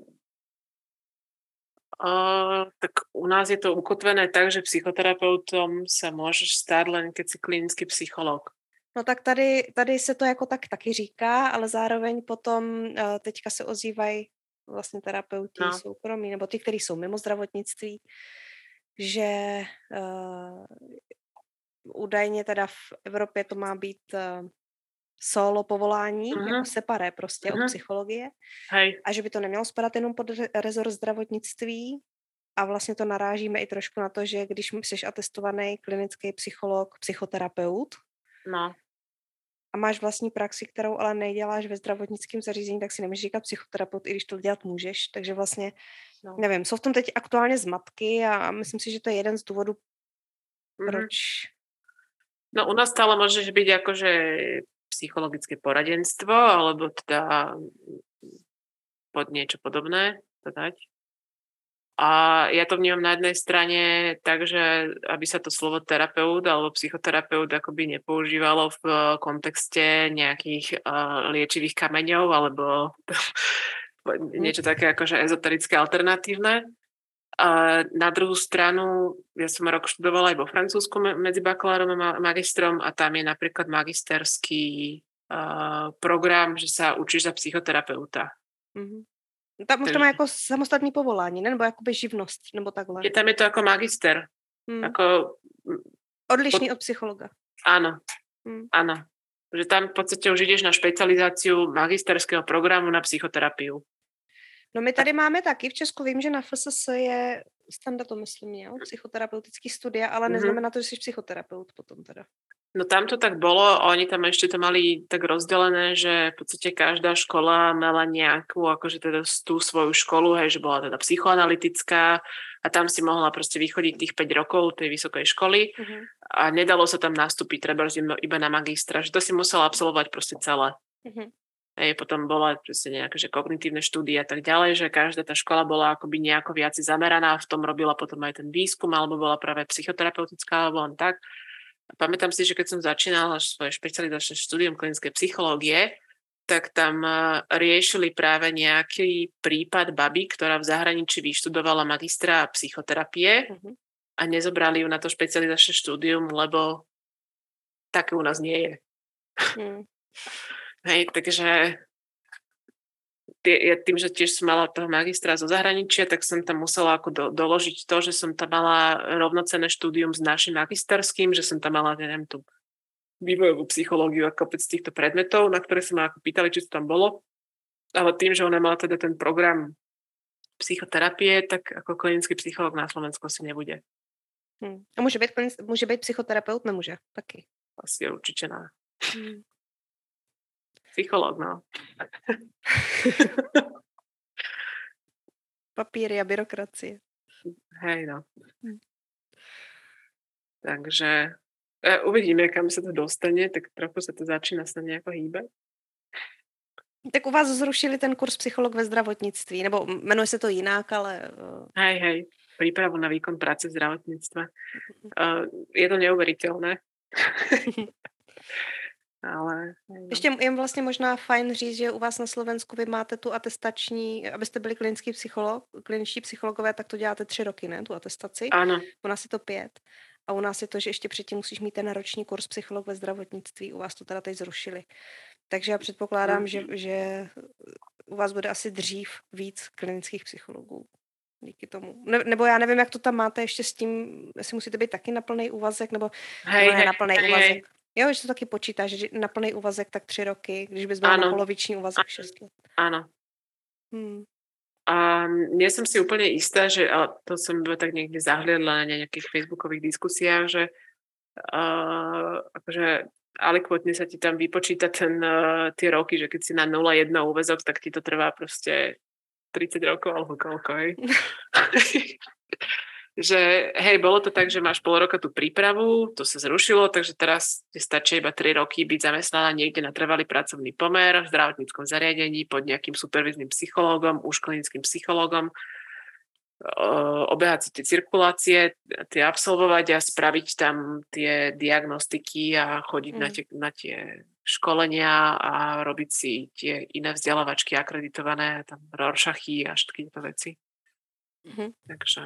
O, tak u nás je to ukotvené tak, že psychoterapeutom sa môžeš stát len keď si klinický psycholog. No tak tady, tady se to jako tak taky říká, ale zároveň potom teďka se ozývají vlastně terapeuti no. soukromí, nebo ty, kteří jsou mimo zdravotnictví, že uh, údajně teda v Evropě to má být uh, solo povolání, uh-huh. jako separé prostě uh-huh. od psychologie. Hej. A že by to nemělo spadat jenom pod rezort zdravotnictví a vlastně to narážíme i trošku na to, že když jsi atestovaný klinický psycholog, psychoterapeut, no. a máš vlastní praxi, kterou ale neděláš ve zdravotnickém zařízení, tak si nemůžeš říkat psychoterapeut, i když to dělat můžeš. Takže vlastně, no. nevím, jsou v tom teď aktuálně zmatky a myslím si, že to je jeden z důvodů, proč... No u nás stále môžeš byť akože psychologické poradenstvo, alebo teda pod niečo podobné to dať. A ja to vnímam na jednej strane tak, že aby sa to slovo terapeut alebo psychoterapeut akoby nepoužívalo v kontexte nejakých uh, liečivých kameňov alebo niečo také akože ezoterické, alternatívne. A na druhú stranu, ja som rok študovala aj vo Francúzsku medzi bakalárom a magistrom a tam je napríklad magisterský uh, program, že sa učíš za psychoterapeuta. Mm-hmm. Tam už to má jako samostatný povolání, ne? Nebo jakoby živnost, nebo takhle. Je tam je to jako magister. Hmm. Ako, odlišný pod... od psychologa. Áno, hmm. áno. Že tam v podstate už ideš na špecializáciu magisterského programu na psychoterapiu. No my tady máme taky, v Česku vím, že na F S S je standard, to myslím, jo? Psychoterapeutický studia, ale neznamená to, že jsi psychoterapeut potom teda. No tam to tak bolo, oni tam ešte to mali tak rozdelené, že v podstate každá škola mala nejakú, akože teda tú svoju školu, hej, že bola teda psychoanalytická a tam si mohla proste vychodiť tých päť rokov tej vysokej školy uh-huh. a nedalo sa tam nastúpiť treba iba na magistra, že to si musela absolvovať proste celé. Uh-huh. Hej, potom bola proste nejaké že kognitívne štúdie a tak ďalej, že každá tá škola bola akoby nejako viac zameraná, v tom robila potom aj ten výskum, alebo bola práve psychoterapeutická, alebo len tak. Pamätám si, že keď som začínala svoje špecializačné štúdium klinickej psychológie, tak tam riešili práve nejaký prípad baby, ktorá v zahraničí vyštudovala magistra psychoterapie uh-huh. a nezobrali ju na to špecializačné štúdium, lebo také u nás nie je. Uh-huh. Hej, takže tým, že tiež som mala toho magistra zo zahraničia, tak som tam musela ako do, doložiť to, že som tam mala rovnocenné štúdium s našim magisterským, že som tam mala, neviem, tú vývojovú psychológiu a kopec týchto predmetov, na ktoré sa ma ako pýtali, či to tam bolo. Ale tým, že ona mala teda ten program psychoterapie, tak ako klinický psychológ na Slovensku si nebude. Hmm. A môže byť, môže byť psychoterapeut? Nemôže, taky. Asi určite ne. Hmm. Psychológ, no. Papíry a byrokracie. Hej, no. Hm. Takže e, uvidíme, kam sa to dostane, tak trochu sa to začína sa nejako hýbať. Tak u vás zrušili ten kurz psycholog ve zdravotnictví, nebo jmenuje se to jinak, ale... Hej, hej, prípravu na výkon práce v zdravotníctve. Uh, je to neuveriteľné. Ale, no. Ještě je vlastně možná fajn říct, že u vás na Slovensku vy máte tu atestační, abyste byli klinický psycholog, kliničtí psychologové, tak to děláte tři roky, ne, tu atestaci? Ano. U nás je to pět. A u nás je to, že ještě předtím musíš mít ten roční kurz psycholog ve zdravotnictví. U vás to teda teď zrušili. Takže já předpokládám, mm. že, že u vás bude asi dřív víc klinických psychologů. Díky tomu. Ne, nebo já nevím, jak to tam máte ještě s tím, jestli musíte být taky na plný úvazek, nebo hej, ne na plný hej, úvazek. Hej. Jo, že to taky počítáš, že na plný úvazek tak tři roky, když bys byl na poloviční úvazek šest let. Áno. Hmm. A nie som si úplne istá, že, ale to som tak niekde zahliadla na nejakých facebookových diskusiách, že uh, akože alikvotne sa ti tam vypočíta ten, uh, tie roky, že keď si na nula jedna úväzok, tak ti to trvá proste tridsať rokov alebo koľko, hej. že hej, bolo to tak, že máš pol roka tú prípravu, to sa zrušilo, takže teraz stačí iba tri roky byť zamestnaná niekde na trvalý pracovný pomer v zdravotníckom zariadení pod nejakým supervíznym psychológom, už klinickým psychológom, obehať si tie cirkulácie, tie absolvovať a spraviť tam tie diagnostiky a chodiť mm. na, tie, na tie školenia a robiť si tie iné vzdelávačky akreditované, tam Rorschachy a takéto veci. Mm-hmm. Takže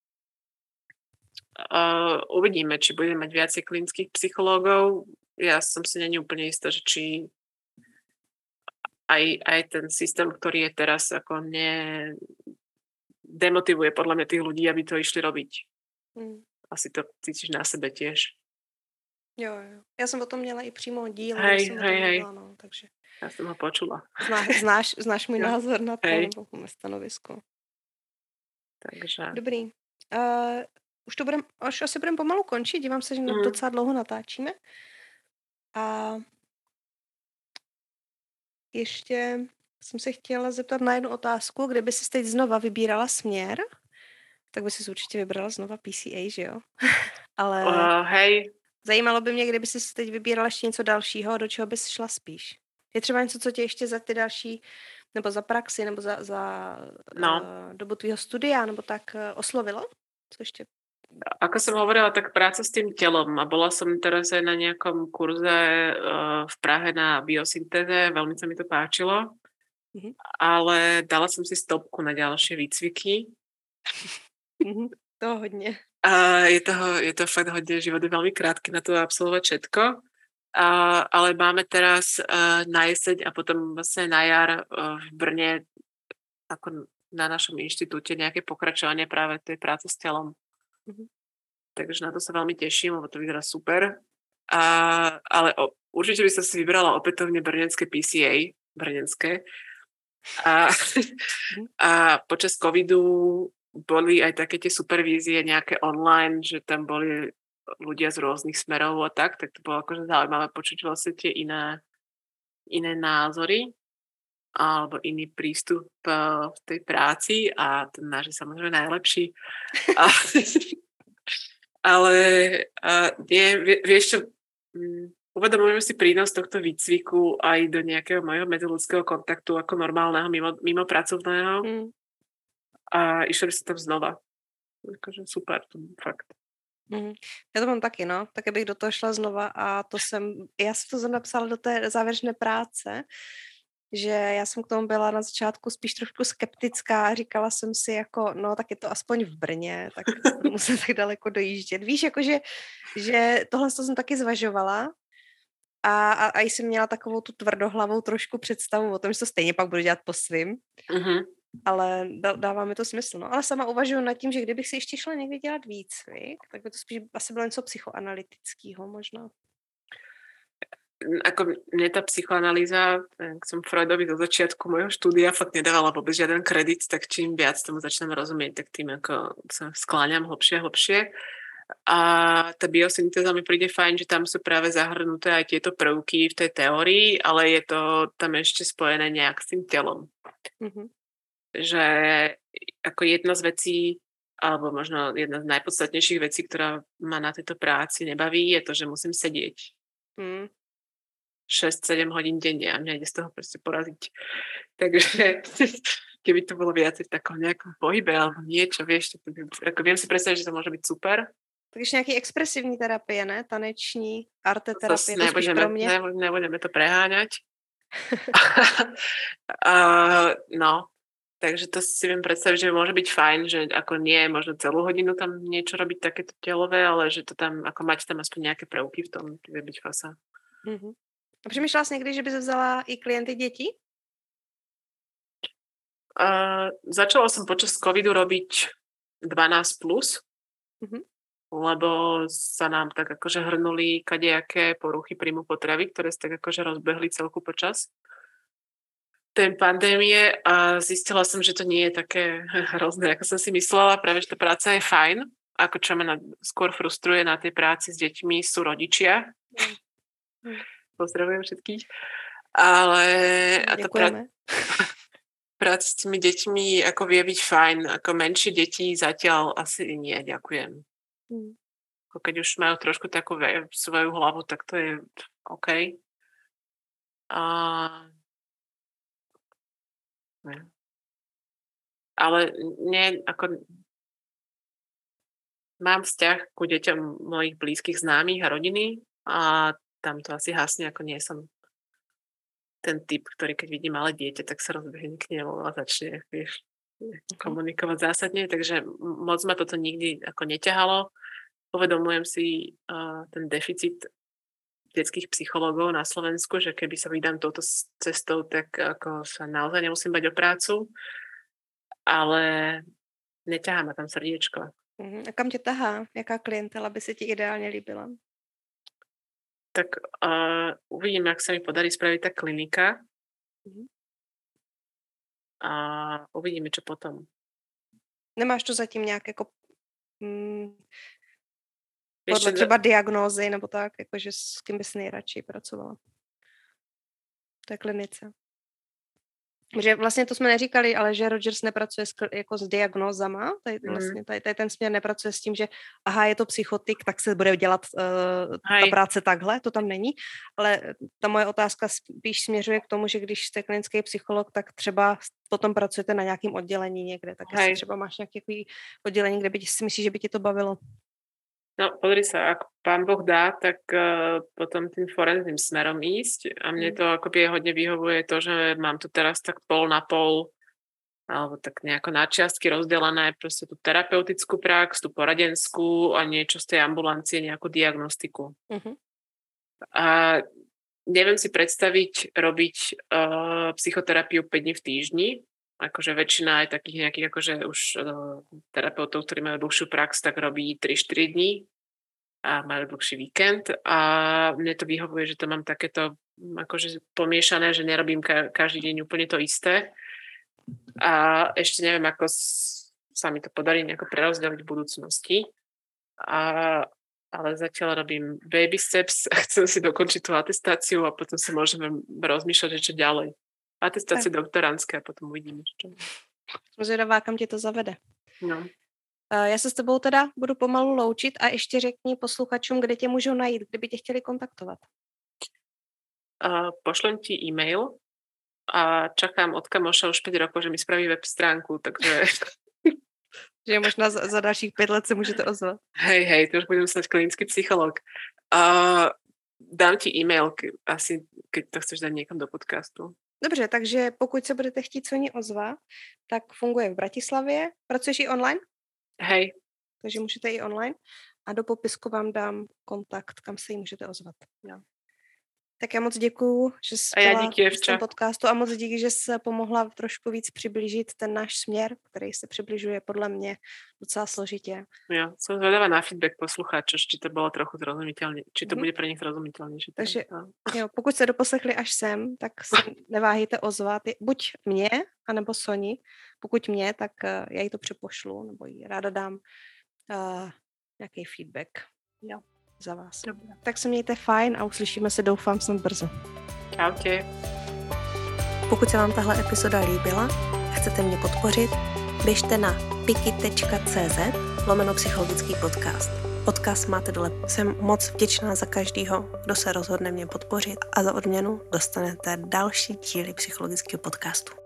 Uh, uvidíme, či budeme mať viacej klinických psychológov. Ja som si není úplne istá, že či aj, aj ten systém, ktorý je teraz, ako ne demotivuje podľa mňa tých ľudí, aby to išli robiť. Mm. Asi to cítiš na sebe tiež. Jo, jo. Ja som o tom měla i přímo díl, hej, som hej, hej. Mluvila, no, takže... Ja som ho počula. Zná, znáš, znáš můj ja. názor na to, hej. nebo můj stanovisko. Takže... Dobrý. Uh, Už to budem, až asi budeme pomalu končit, dívám se, že mm. docela dlouho natáčíme. A ještě jsem se chtěla zeptat na jednu otázku, kdyby si teď znova vybírala směr, tak by si určitě vybrala znova P C A, že jo? Ale uh, hej. Zajímalo by mě, kdyby si teď vybírala ještě něco dalšího, do čeho bys šla spíš. Je třeba něco, co tě ještě za ty další, nebo za praxi, nebo za, za no. uh, dobu tvýho studia, nebo tak uh, oslovilo? Co ještě? Ako som hovorila, tak práca s tým telom a bola som teraz aj na nejakom kurze uh, v Prahe na biosyntéze, veľmi sa mi to páčilo, mm-hmm. ale dala som si stopku na ďalšie výcviky. Mm-hmm. To hodne. A je toho, je to fakt hodne, život je veľmi krátky na to absolvovať všetko, a, ale máme teraz uh, na jeseň a potom vlastne na jar uh, v Brne ako na našom inštitúte nejaké pokračovanie práve tej práce s telom. Mm-hmm. Takže na to sa veľmi teším, lebo to vyzerá super. A, ale o, určite by som si vybrala opätovne brněnské P C A, brněnské. A, a počas covidu boli aj také tie supervízie nejaké online, že tam boli ľudia z rôznych smerov a tak, tak to bolo akože zaujímavé počuť vlastne tie iné, iné názory alebo iný prístup uh, v tej práci a ten náš je samozrejme najlepší. A, ale uh, nie, vieš čo, um, uvedomujem si prínos tohto výcviku aj do nejakého mojho medziľudského kontaktu ako normálneho, mimo, mimo pracovného. Mm. A išla by som tam znova. Takže super, to fakt. Mm. Já to mám taky, no. Taky bych do toho šla znova a to jsem, já jsem to napsala do té závěrečné práce, že já jsem k tomu byla na začátku spíš trošku skeptická a říkala jsem si jako, no tak je to aspoň v Brně, tak musím tak daleko dojíždět. Víš, jakože, že tohle jsem taky zvažovala a, a, a jsem měla takovou tu tvrdohlavou trošku představu o tom, že to stejně pak budu dělat po svým, mm-hmm. ale dává mi to smysl. No. Ale sama uvažuji nad tím, že kdybych si ještě šla někdy dělat výcvik, tak by to spíš asi bylo něco psychoanalytického možná. Ako mne tá psychoanalýza, ak som Freudovi do začiatku môjho štúdia fakt nedávala vôbec žiaden kredit, tak čím viac tomu začnem rozumieť, tak tým ako sa skláňam hlbšie a hlbšie. A tá biosyntéza mi príde fajn, že tam sú práve zahrnuté aj tieto prvky v tej teórii, ale je to tam ešte spojené nejak s tým telom. Mm-hmm. Že ako jedna z vecí, alebo možno jedna z najpodstatnejších vecí, ktorá ma na tejto práci nebaví, je to, že musím sedieť. Mm. šesť sedem hodín denne a mňa ide z toho proste poraziť. Takže keby to bolo viacej v takom nejakom pohybe alebo niečo, vieš, to, ako viem si predstaviť, že to môže byť super. Takže nejaký expresívní terapie, ne? Taneční, arte terapie, to spíš pro mňa. Nebudeme, nebudeme to preháňať. a, no, takže to si viem predstaviť, že môže byť fajn, že ako nie možno celú hodinu tam niečo robiť takéto telové, ale že to tam, ako mať tam aspoň nejaké prvky v tom, to vie byť fasa. Mhm. A přemýšlela jsi někdy, že bys vzala i klienty dětí? Uh, začala som počas covidu robiť dvanásť plus, mm-hmm. lebo sa nám tak akože hrnuli kadejaké poruchy príjmu potravy, ktoré sa tak akože rozbehli celku počas tej pandémie a zistila som, že to nie je také hrozné, ako som si myslela. Práve, že tá práca je fajn. Ako čo ma na, skôr frustruje na tej práci s deťmi sú rodičia. Mm. Pozdravujem všetkých. Ale a tá pra... práca s tými deťmi ako vie byť fajn, ako menšie deti zatiaľ asi nie, ďakujem. Hmm. Keď už majú trošku takú svoju hlavu, tak to je OK. A... Ale nie, ako... Mám vzťah ku deťom mojich blízkych známych a rodiny a tam to asi hasne, ako nie som ten typ, ktorý keď vidí malé dieťa, tak sa rozbehne k nemu a začne, vieš, komunikovať zásadne, takže moc ma toto nikdy ako neťahalo. Uvedomujem si uh, ten deficit detských psychológov na Slovensku, že keby sa vydám touto cestou, tak ako sa naozaj nemusím bať o prácu, ale neťahá ma tam srdiečko. A kam tě tahá? Jaká klientela by se ti ideálně líbila? Tak uh, uvidím, jak sa mi podarí spraviť tá klinika. Mm-hmm. A uvidíme, čo potom. Nemáš to zatím nějak jako mm, podle třeba diagnózy nebo tak, jakože s kým bys nejradši pracovala v té klinice? Že vlastně to jsme neříkali, ale že Rogers nepracuje s, jako s diagnózama, tady, mm. vlastně, tady, tady ten směr nepracuje s tím, že aha, je to psychotik, tak se bude dělat uh, ta práce takhle, to tam není, ale ta moje otázka spíš směřuje k tomu, že když jste klinický psycholog, tak třeba potom pracujete na nějakém oddělení někde, tak jestli třeba máš nějaké oddělení, kde by si myslíš, že by ti to bavilo? No, pozri sa, ak pán Boh dá, tak uh, potom tým forenzným smerom ísť a mne to akoby hodne vyhovuje to, že mám tu teraz tak pol na pol alebo tak nejako na čiastky rozdelené proste tú terapeutickú prax, tú poradenskú a niečo z tej ambulancie, nejakú diagnostiku. Uh-huh. A neviem si predstaviť robiť uh, psychoterapiu päť dní v týždni, akože väčšina aj takých nejakých akože už uh, terapeutov, ktorí majú dlhšiu prax, tak robí tri štyri dní a majú dlhší víkend a mne to vyhovuje, že to mám takéto akože pomiešané, že nerobím ka- každý deň úplne to isté a ešte neviem, ako s- sa mi to podarí nejako prerozdeliť v budúcnosti a, ale zatiaľ robím baby steps a chcem si dokončiť tú atestáciu a potom si môžeme rozmýšľať, že čo ďalej. Atestácie doktorantské a potom uvidíme, čo. Zvědavá, kam tě to zavede. No. Já se s tebou teda budu pomalu loučit a ještě řekni posluchačům, kde tě můžou najít, kdyby tě chtěli kontaktovat. Uh, pošlem ti e-mail a čakám od kamoša už päť rokov, že mi spraví web stránku, takže... že možná za, za dalších pět let se můžete ozvat. Hej, hej, to už budem snať klinický psycholog. Uh, dám ti e-mail, ke, asi keď to chceš dať niekam do podcastu. Dobře, takže pokud se budete chtít Soni ozvat, tak funguje v Bratislavě. Pracuješ i online? Hej. Takže můžete i online. A do popisku vám dám kontakt, kam se jí můžete ozvat. Jo. Tak já moc děkuju, že jsi byla v tom podcastu a moc díky, že jsi pomohla trošku víc přiblížit ten náš směr, který se přibližuje podle mě docela složitě. Jo, som zvedavá na feedback poslucháčov, či to bylo trochu zrozumiteľné, či to mm. bude pre nich zrozumiteľnejšie. Takže jo, pokud se doposlechli až sem, tak se neváhejte ozvat, buď mě, anebo Soni. Pokud mě, tak uh, já jí to přepošlu, nebo jí ráda dám uh, nějaký feedback. Jo. Za vás. Dobře. Tak se mějte fajn a uslyšíme se, doufám, snad brzo. Čaute. Pokud se vám tahle epizoda líbila a chcete mě podpořit, běžte na piki.cz lomeno psychologický podcast. Odkaz máte dole. Jsem moc vděčná za každýho, kdo se rozhodne mě podpořit a za odměnu dostanete další díly psychologického podcastu.